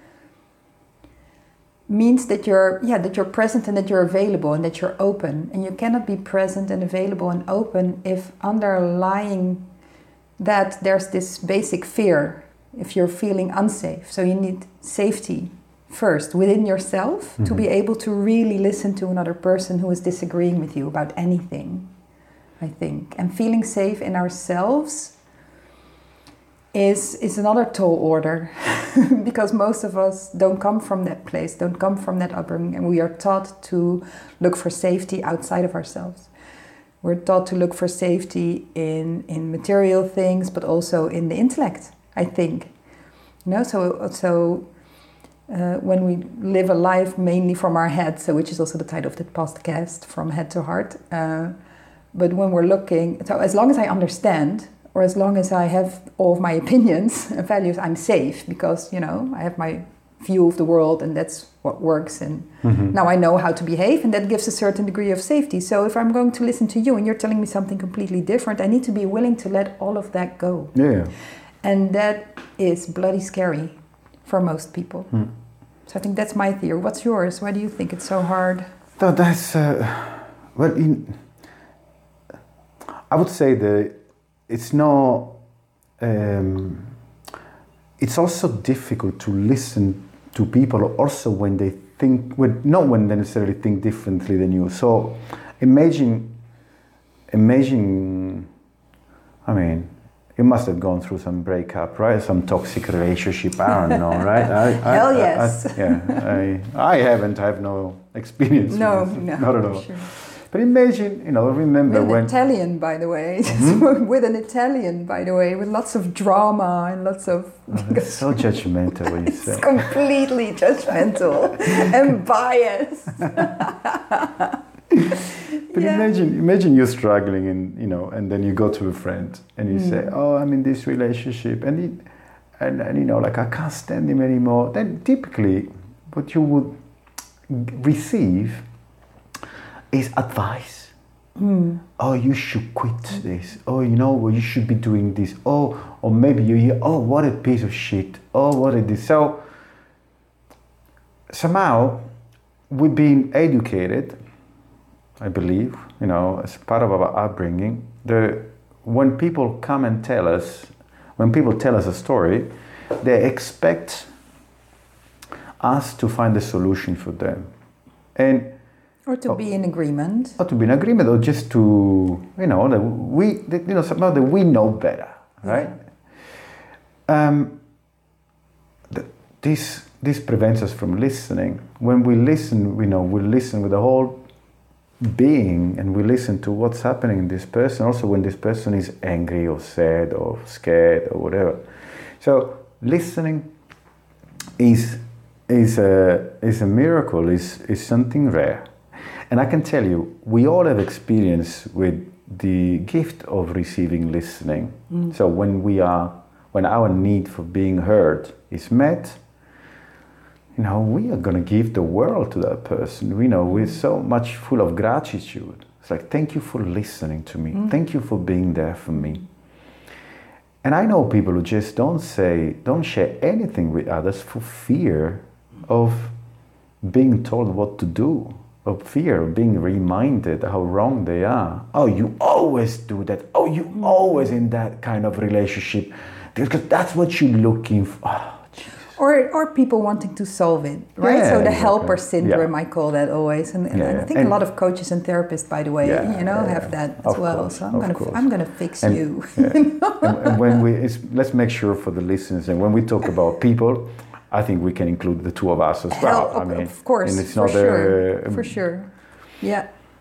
means that you're yeah that you're present and that you're available and that you're open. And you cannot be present and available and open if underlying that there's this basic fear, if you're feeling unsafe. So you need safety first within yourself mm-hmm. to be able to really listen to another person who is disagreeing with you about anything, I think. And feeling safe in ourselves is is another tall order because most of us don't come from that place, don't come from that upbringing, and we are taught to look for safety outside of ourselves. We're taught to look for safety in, in material things, but also in the intellect, I think. You know, so so uh, when we live a life mainly from our head, so which is also the title of the podcast, From Head to Heart. Uh, but when we're looking, so as long as I understand, or as long as I have all of my opinions and values, I'm safe because, you know, I have my view of the world and that's what works. And mm-hmm. now I know how to behave, and that gives a certain degree of safety. So if I'm going to listen to you and you're telling me something completely different, I need to be willing to let all of that go. Yeah. And that is bloody scary for most people. Mm. So I think that's my theory. What's yours? Why do you think it's so hard? No, that's, uh, well, in, I would say that it's not, um, it's also difficult to listen to people also when they think, when, not when they necessarily think differently than you. So imagine, imagine, I mean, you must have gone through some breakup, right? Some toxic relationship, I don't know, right? I, I, Hell I, yes. I, yeah, I, I haven't, I have no experience. No, with no, not at all. Sure. But imagine, you know, remember with when... an Italian, by the way. Mm-hmm. With an Italian, by the way, with lots of drama and lots of... Oh, that's so judgmental what you it's say. Completely judgmental and biased. But yeah. imagine, imagine you're struggling, and you know, and then you go to a friend and you mm. say, "Oh, I'm in this relationship," and it, and and you know, like I can't stand him anymore. Then typically, what you would receive is advice. Mm. Oh, you should quit this. Oh, you know, well, you should be doing this. Oh, or maybe you hear, "Oh, what a piece of shit. Oh, what is this?" So somehow we've been educated, I believe, you know, as part of our upbringing, the when people come and tell us, when people tell us a story, they expect us to find a solution for them. And or to or, be in agreement. Or to be in agreement, or just to, you know, that we, that, you know, somehow that we know better, right? Yeah. Um, this this prevents us from listening. When we listen, we know we listen with the whole being, and we listen to what's happening in this person. Also, when this person is angry or sad or scared or whatever. So listening is is a is a miracle. is is something rare, and I can tell you, we all have experience with the gift of receiving listening. Mm. So when we are when our need for being heard is met, you know, we are going to give the world to that person. We know we're so much full of gratitude. It's like, thank you for listening to me. Mm. Thank you for being there for me. And I know people who just don't say, don't share anything with others for fear of being told what to do, of fear of being reminded how wrong they are. Oh, you always do that. Oh, you mm. always in that kind of relationship. Because that's what you're looking for. Oh, Or or people wanting to solve it, right? Yeah, so the exactly. helper syndrome, Yeah. I call that always, and, and Yeah, I think and a lot of coaches and therapists, by the way, Yeah, you know, yeah, have yeah. that as Of well. course, so I'm of gonna course. I'm gonna fix And- you. Yeah. and, and when we, it's, let's make sure for the listeners, and when we talk about people, I think we can include the two of us as well. Hell, I mean, of course, and it's for not sure, a, for sure, yeah.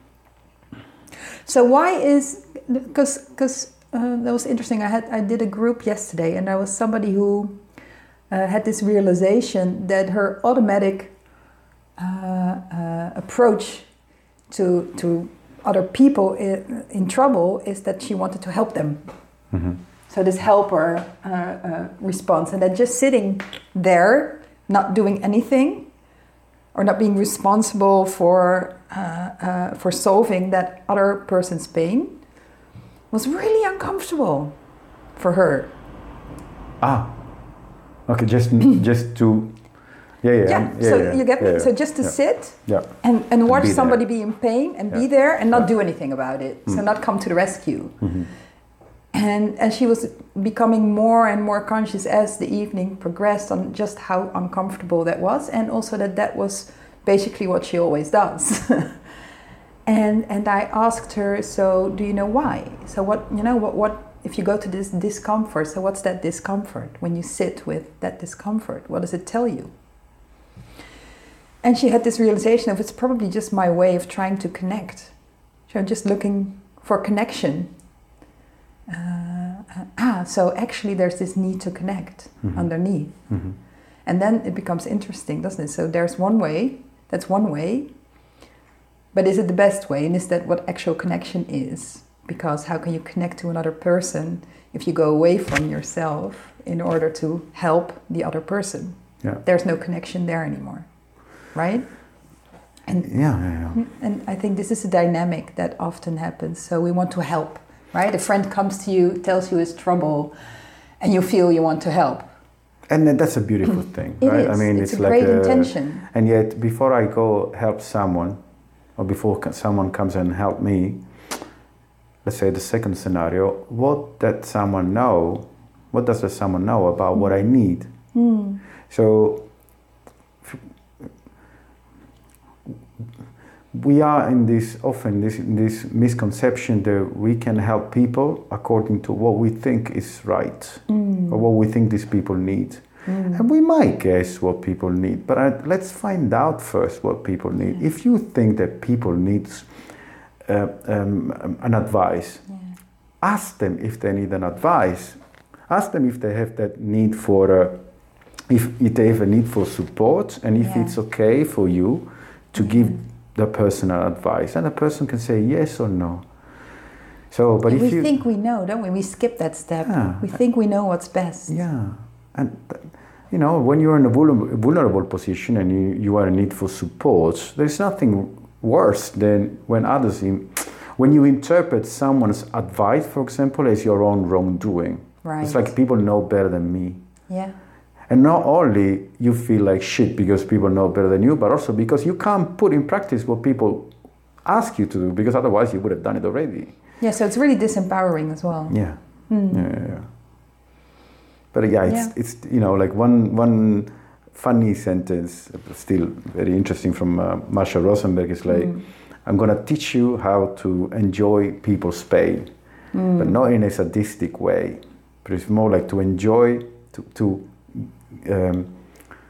So why is because because uh, that was interesting. I had I did a group yesterday, and there was somebody who. Uh, had this realization that her automatic uh, uh, approach to to other people in, in trouble is that she wanted to help them. Mm-hmm. So this helper uh, uh, response, and then just sitting there, not doing anything, or not being responsible for uh, uh, for solving that other person's pain, was really uncomfortable for her. Ah. Okay, just just to, yeah, yeah. Yeah, yeah so yeah, you get me? yeah, So just to yeah. sit Yeah. and, and watch be somebody there. be in pain and Yeah. be there and not Yeah. do anything about it. So Mm. not come to the rescue. Mm-hmm. And, and she was becoming more and more conscious as the evening progressed on just how uncomfortable that was, and also that that was basically what she always does. and and I asked her, so do you know why? So what, you know, what, what if you go to this discomfort, so what's that discomfort? When you sit with that discomfort, what does it tell you? And she had this realization of, it's probably just my way of trying to connect. So I'm just looking for connection. Uh, uh, ah, so actually there's this need to connect mm-hmm. underneath. Mm-hmm. And then it becomes interesting, doesn't it? So there's one way, that's one way, but is it the best way? And is that what actual connection is? Because how can you connect to another person if you go away from yourself in order to help the other person? Yeah. There's no connection there anymore, right? And yeah, yeah, yeah. And I think this is a dynamic that often happens. So we want to help, right? A friend comes to you, tells you his trouble, and you feel you want to help. And that's a beautiful thing, It right? is. I mean, it's, it's, a like great a, intention. And yet, before I go help someone, or before someone comes and help me, let's say the second scenario, what does someone know? What does the someone know about mm. what I need? Mm. So we are in this often this this misconception that we can help people according to what we think is right mm. or what we think these people need. Mm. And we might guess what people need, but uh, let's find out first what people need. Yeah. If you think that people need uh, um, an advice, yeah. ask them if they need an advice. Ask them if they have that need for, uh, if, if they have a need for support, and if yeah. it's okay for you to mm. give the person an advice, and the person can say yes or no. So, but yeah, if we you think we know, don't we? We skip that step. Yeah. We think we know what's best. Yeah. And, you know, when you're in a vulnerable, vulnerable position and you, you are in need for support, there's nothing worse than when others, in, when you interpret someone's advice, for example, as your own wrongdoing. Right. It's like people know better than me. Yeah. And not only you feel like shit because people know better than you, but also because you can't put in practice what people ask you to do, because otherwise you would have done it already. Yeah, so it's really disempowering as well. Yeah. Mm. Yeah, yeah, yeah. But yeah, it's, yeah. it's you know, like one one funny sentence, still very interesting, from uh, Marsha Rosenberg is like, mm. I'm going to teach you how to enjoy people's pain, mm. but not in a sadistic way, but it's more like to enjoy, to, to um,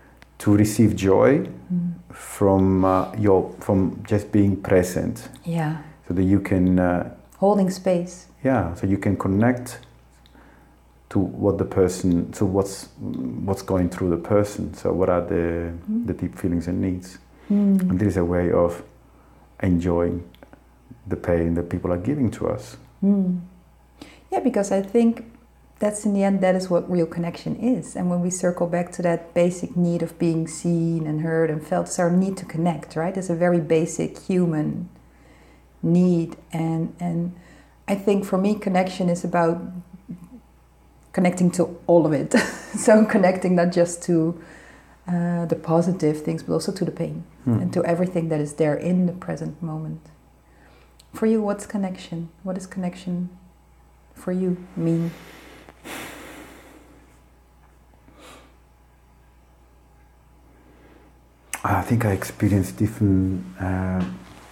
to receive joy mm. from uh, your from just being present. Yeah. So that you can uh, holding space. Yeah. So you can connect to what the person. So what's what's going through the person. So what are the mm. the deep feelings and needs. Mm. And this is a way of enjoying the pain that people are giving to us. Mm. Yeah, because I think that's in the end, that is what real connection is. And when we circle back to that basic need of being seen and heard and felt, it's our need to connect, right? It's a very basic human need. And, and I think for me, connection is about connecting to all of it. So connecting not just to uh, the positive things, but also to the pain hmm. and to everything that is there in the present moment. For you, what's connection? What does connection for you mean? I think I experienced different. Uh,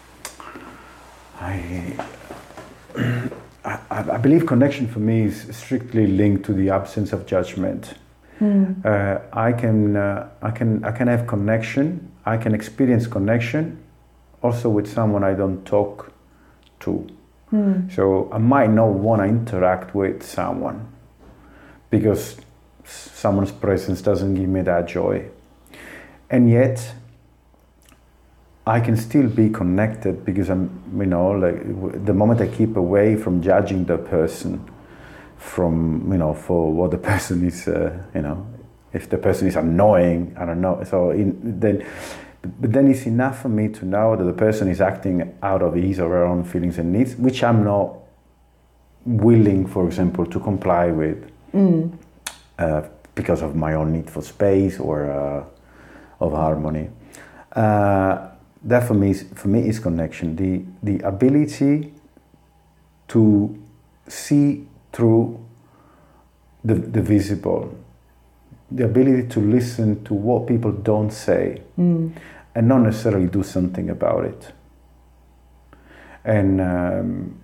I, I I believe connection for me is strictly linked to the absence of judgment. Mm. Uh, I can uh, I can I can have connection. I can experience connection, also with someone I don't talk to. Mm. So I might not want to interact with someone because someone's presence doesn't give me that joy, and yet I can still be connected because I'm, you know, like the moment I keep away from judging the person, from, you know, for what the person is, uh, you know, if the person is annoying, I don't know. So in, then, but then it's enough for me to know that the person is acting out of his or her own feelings and needs, which I'm not willing, for example, to comply with mm. uh, because of my own need for space or uh, of harmony. Uh, That for me, is, for me is connection. The the ability to see through the the visible, the ability to listen to what people don't say, mm. and not necessarily do something about it. And um,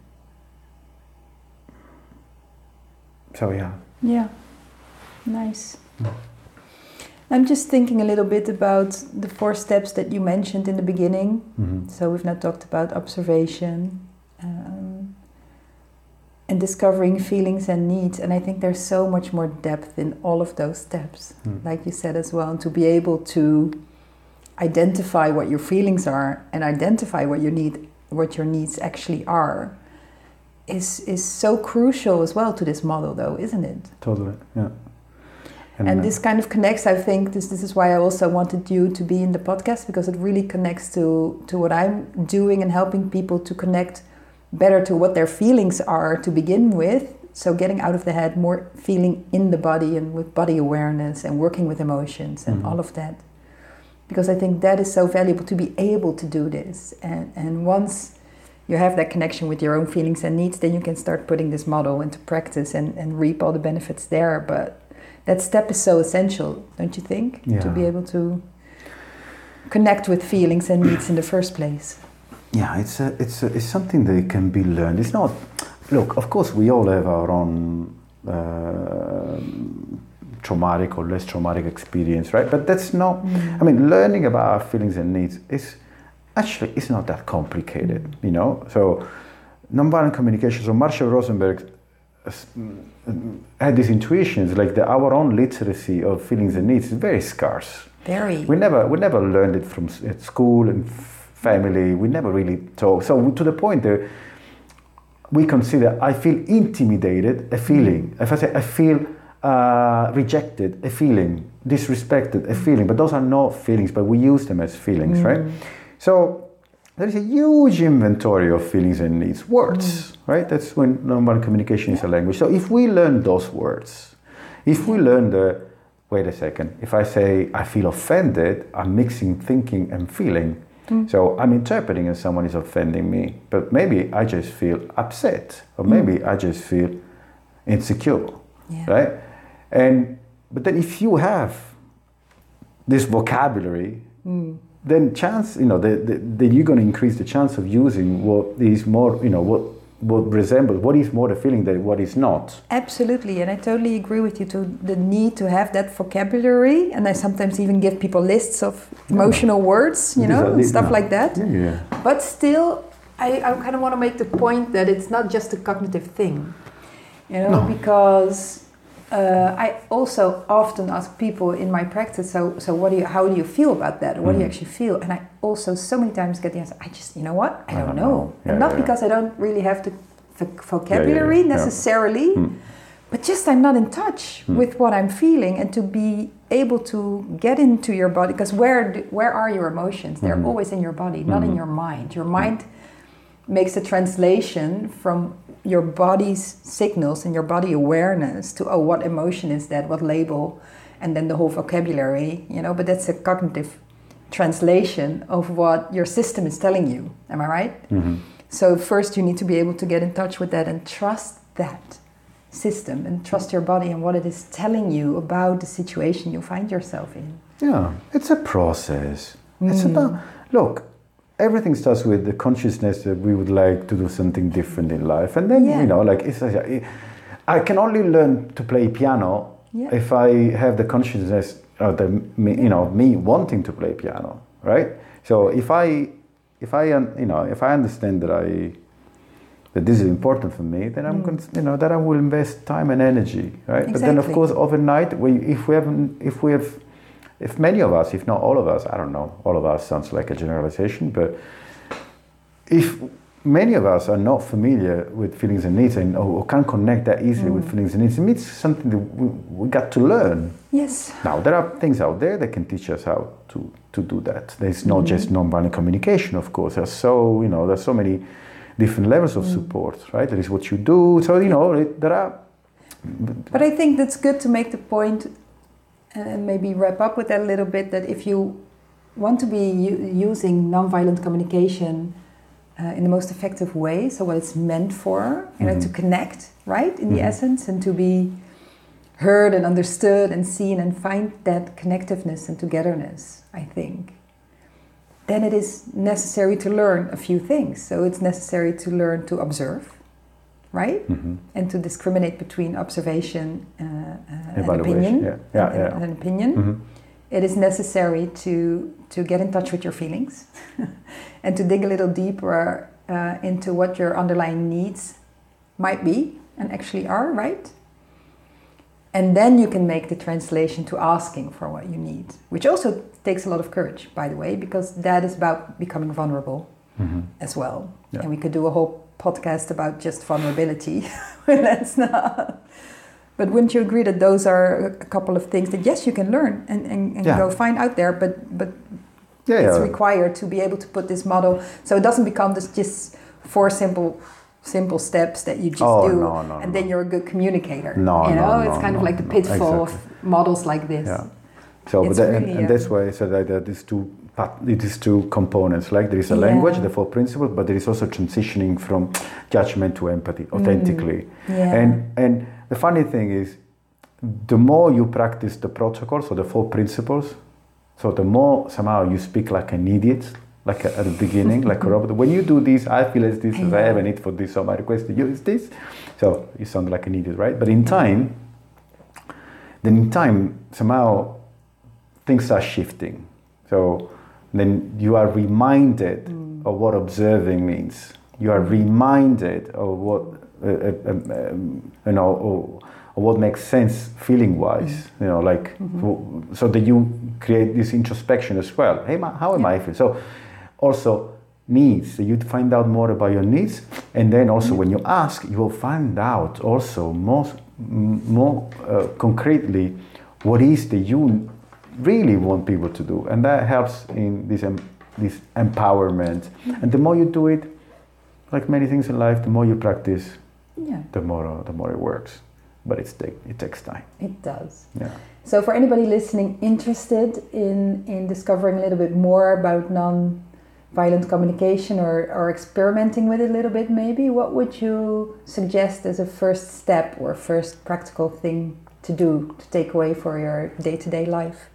so yeah. Yeah, nice. Mm. I'm just thinking a little bit about the four steps that you mentioned in the beginning. Mm-hmm. So we've now talked about observation um, and discovering feelings and needs. And I think there's so much more depth in all of those steps, mm. like you said as well. And to be able to identify what your feelings are and identify what you need, what your needs actually are, is is so crucial as well to this model, though, isn't it? Totally, yeah. And, and this kind of connects, I think, this this is why I also wanted you to be in the podcast, because it really connects to, to what I'm doing and helping people to connect better to what their feelings are to begin with. So getting out of the head, more feeling in the body and with body awareness and working with emotions and mm-hmm. all of that. Because I think that is so valuable to be able to do this. And, and once you have that connection with your own feelings and needs, then you can start putting this model into practice and, and reap all the benefits there. But that step is so essential, don't you think? Yeah. To be able to connect with feelings and needs in the first place. Yeah, it's a, it's a, it's something that can be learned. It's not. Look, of course, we all have our own uh, traumatic or less traumatic experience, right? But that's not. Mm. I mean, learning about our feelings and needs is actually it's not that complicated, mm. you know. So, nonviolent communication. So, Marshall Rosenberg had these intuitions, like the, our own literacy of feelings and needs is very scarce. Very. We never, we never learned it from at school and family. We never really taught. So to the point that we consider, I feel intimidated, a feeling. If I say I feel uh, rejected, a feeling, disrespected, a feeling. But those are not feelings, but we use them as feelings, mm. right? So there is a huge inventory of feelings and needs. Words, mm. right? That's when nonviolent communication is a language. So if we learn those words, if we learn the, wait a second, if I say I feel offended, I'm mixing thinking and feeling. Mm. So I'm interpreting as someone is offending me, but maybe I just feel upset, or maybe mm. I just feel insecure, yeah. right? And but then if you have this vocabulary, mm. then chance, you know, the, the, then you're going to increase the chance of using what is more, you know, what what resembles, what is more the feeling than what is not. Absolutely, and I totally agree with you to the need to have that vocabulary, and I sometimes even give people lists of emotional yeah. words, you know, and stuff yeah. like that. Yeah, yeah. But still, I, I kind of want to make the point that it's not just a cognitive thing, you know, no. because uh, I also often ask people in my practice, so so what do you, how do you feel about that, or what mm. do you actually feel? And I also so many times get the answer, I just, you know what, I, I don't, don't know, know. Yeah, and not yeah, because yeah. I don't really have the vocabulary yeah, yeah, yeah. necessarily, yeah. Mm. but just I'm not in touch mm. with what I'm feeling, and to be able to get into your body, because where do, where are your emotions? They're mm. always in your body, not mm. in your mind. Your mind makes a translation from your body's signals and your body awareness to, oh, what emotion is that, what label, and then the whole vocabulary, you know, but that's a cognitive translation of what your system is telling you. Am I right? Mm-hmm. So first you need to be able to get in touch with that and trust that system and trust your body and what it is telling you about the situation you find yourself in. Yeah, it's a process. Mm. It's about, look, everything starts with the consciousness that we would like to do something different in life. And then, yeah. you know, like, it's, I can only learn to play piano yeah. if I have the consciousness of the, you know, me wanting to play piano, right? So if I, if I, you know, if I understand that I, that this is important for me, then I'm, mm. going to, you know, that I will invest time and energy, right? Exactly. But then, of course, overnight, we, if we haven't, if we have, if many of us, if not all of us, I don't know, all of us sounds like a generalization, but if many of us are not familiar with feelings and needs and or, or can't connect that easily mm. with feelings and needs, it means something that we, we got to learn. Yes. Now, there are things out there that can teach us how to, to do that. There's not mm. just nonviolent communication, of course. There's so, you know, there's so many different levels of mm. support, right? There is what you do. So, you know, it, there are... But I think that's good to make the point and maybe wrap up with that a little bit, that if you want to be u- using nonviolent communication uh, in the most effective way, so what it's meant for, you know, mm-hmm. to connect, right, in mm-hmm. the essence, and to be heard and understood and seen and find that connectiveness and togetherness, I think, then it is necessary to learn a few things. So it's necessary to learn to observe, right? Mm-hmm. And to discriminate between observation uh, uh, and opinion. Yeah. Yeah, and, yeah. and an opinion. Mm-hmm. It is necessary to, to get in touch with your feelings and to dig a little deeper uh, into what your underlying needs might be and actually are, right? And then you can make the translation to asking for what you need, which also takes a lot of courage, by the way, because that is about becoming vulnerable mm-hmm. as well. Yeah. And we could do a whole podcast about just vulnerability. Let's not. But wouldn't you agree that those are a couple of things that, yes, you can learn and, and, and yeah. go find out there, but but yeah, it's yeah. required to be able to put this model, so it doesn't become this just four simple simple steps that you just oh, do no, no, and no. then you're a good communicator. No, you know, no, it's no, kind no, of like the no, pitfall exactly. of models like this. Yeah. So, but that, really, and, and that's why I said that these two it is two components. Like there is a yeah. language, the four principles, but there is also transitioning from judgment to empathy authentically. Mm. Yeah. And and the funny thing is, the more you practice the protocols or the four principles, so the more somehow you speak like an idiot, like a, at the beginning, like a robot. When you do this, I feel as this, as I have a need for this, so my request to you is this. So you sound like an idiot, right? But in time, then in time, somehow things are shifting. So then you are reminded mm. of what observing means. You are reminded of what, uh, uh, um, you know, or, or what makes sense feeling-wise. Mm. You know, like, mm-hmm. so that you create this introspection as well. Hey, how am yeah. I feeling? So also needs, so you find out more about your needs, and then also mm-hmm. when you ask, you will find out also more, more uh, concretely what is that you really want people to do, and that helps in this um, this empowerment. Mm-hmm. And the more you do it, like many things in life, the more you practice, yeah. the more uh, the more it works. But it's take, it takes time. It does. Yeah. So for anybody listening interested in in discovering a little bit more about non-violent communication or or experimenting with it a little bit, maybe what would you suggest as a first step or first practical thing to do to take away for your day-to-day life?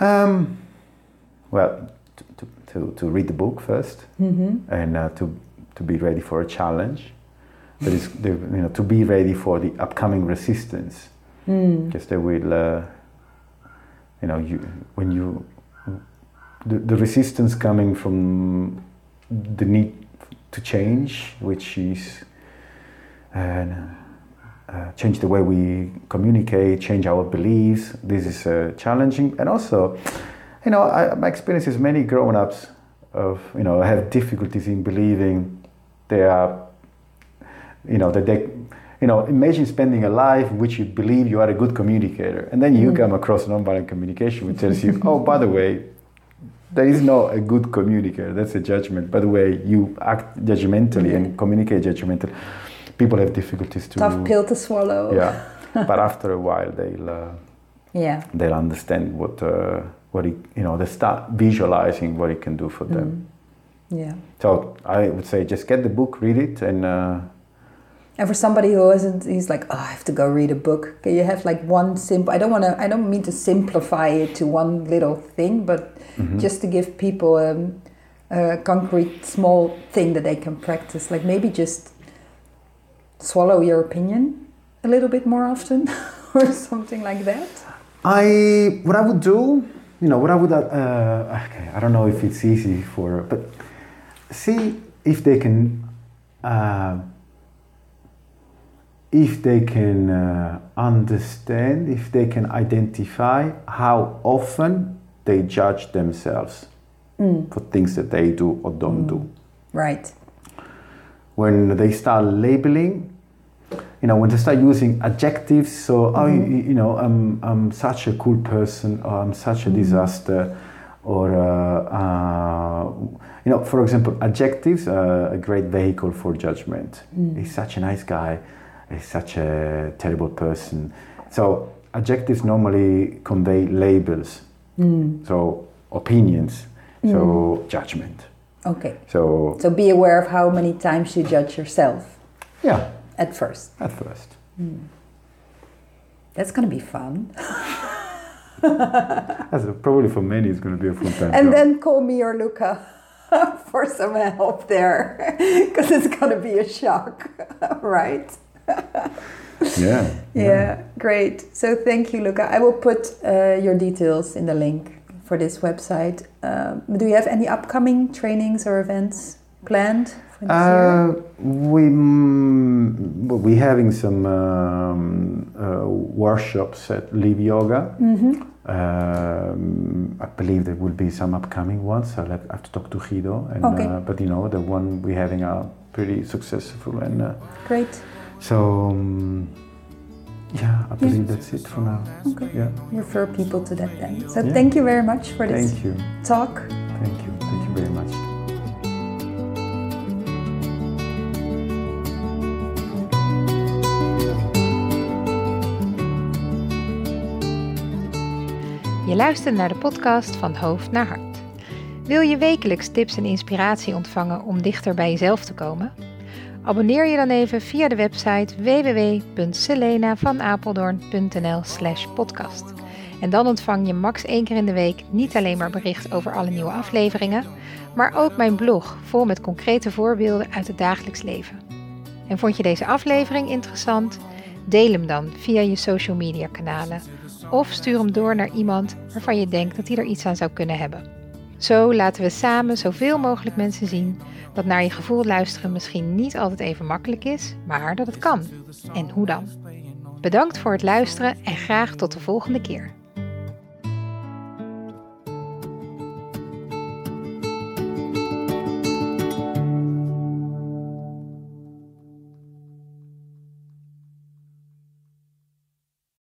Um, well, to, to, to read the book first, mm-hmm. and uh, to to be ready for a challenge. That is, the, you know, to be ready for the upcoming resistance. Mm. Because they will, uh, you know, you when you the, the resistance coming from the need to change, which is uh, uh, change the way we communicate, change our beliefs. This is uh, challenging, and also, you know, I, my experience is many grown-ups of you know have difficulties in believing they are, you know, that they. You know, imagine spending a life in which you believe you are a good communicator, and then you mm. come across nonviolent communication, which tells you, oh, by the way, there is no a good communicator. That's a judgment. By the way, you act judgmentally mm. and communicate judgmentally. People have difficulties to tough pill to swallow. Yeah, but after a while, they'll uh, yeah they'll understand what uh, what it, you know. They start visualizing what it can do for mm. them. Yeah. So I would say just get the book, read it, and. Uh, And for somebody who isn't, he's like, oh, I have to go read a book. Can you have like one simple? I don't want to. I don't mean to simplify it to one little thing, but mm-hmm. just to give people um, a concrete, small thing that they can practice. Like maybe just swallow your opinion a little bit more often, or something like that. I what I would do, you know, what I would. Uh, okay, I don't know if it's easy for, but see if they can. Uh, If they can uh, understand, if they can identify how often they judge themselves mm. for things that they do or don't mm. do. Right. When they start labeling, you know, when they start using adjectives, so, mm-hmm. oh, you, you know, I'm, I'm such a cool person, or I'm such a mm. disaster, or, uh, uh, you know, for example, adjectives are a great vehicle for judgment. Mm. He's such a nice guy. Is such a terrible person. So adjectives normally convey labels, mm. so opinions, mm. so judgment. Okay. So so be aware of how many times you judge yourself. Yeah. At first. At first. Mm. That's going to be fun. That's a, probably for many it's going to be a full time. And job. then call me or Luca for some help there, because it's going to be a shock, right? yeah, yeah. Yeah, great. So thank you, Luca. I will put uh, your details in the link for this website. Um, do you have any upcoming trainings or events planned for this uh, year? We, mm, we're having some um, uh, workshops at Live Yoga. Mm-hmm. Um, I believe there will be some upcoming ones. I'll have, I have to talk to Guido. And, okay. uh, but you know, the one we're having are pretty successful. And uh, great. So, um, yeah, I believe yeah. that's it for now. Okay. Yeah. Refer people to that then. So yeah. thank you very much for this thank you. talk. Thank you. Thank you very much. Je luistert naar de podcast Van Hoofd naar Hart. Wil je wekelijks tips en inspiratie ontvangen om dichter bij jezelf te komen? Abonneer je dan even via de website w w w punt selena van apeldoorn punt n l slash podcast. En dan ontvang je max één keer in de week niet alleen maar bericht over alle nieuwe afleveringen, maar ook mijn blog vol met concrete voorbeelden uit het dagelijks leven. En vond je deze aflevering interessant? Deel hem dan via je social media kanalen of stuur hem door naar iemand waarvan je denkt dat hij er iets aan zou kunnen hebben. Zo laten we samen zoveel mogelijk mensen zien dat naar je gevoel luisteren misschien niet altijd even makkelijk is, maar dat het kan. En hoe dan? Bedankt voor het luisteren en graag tot de volgende keer.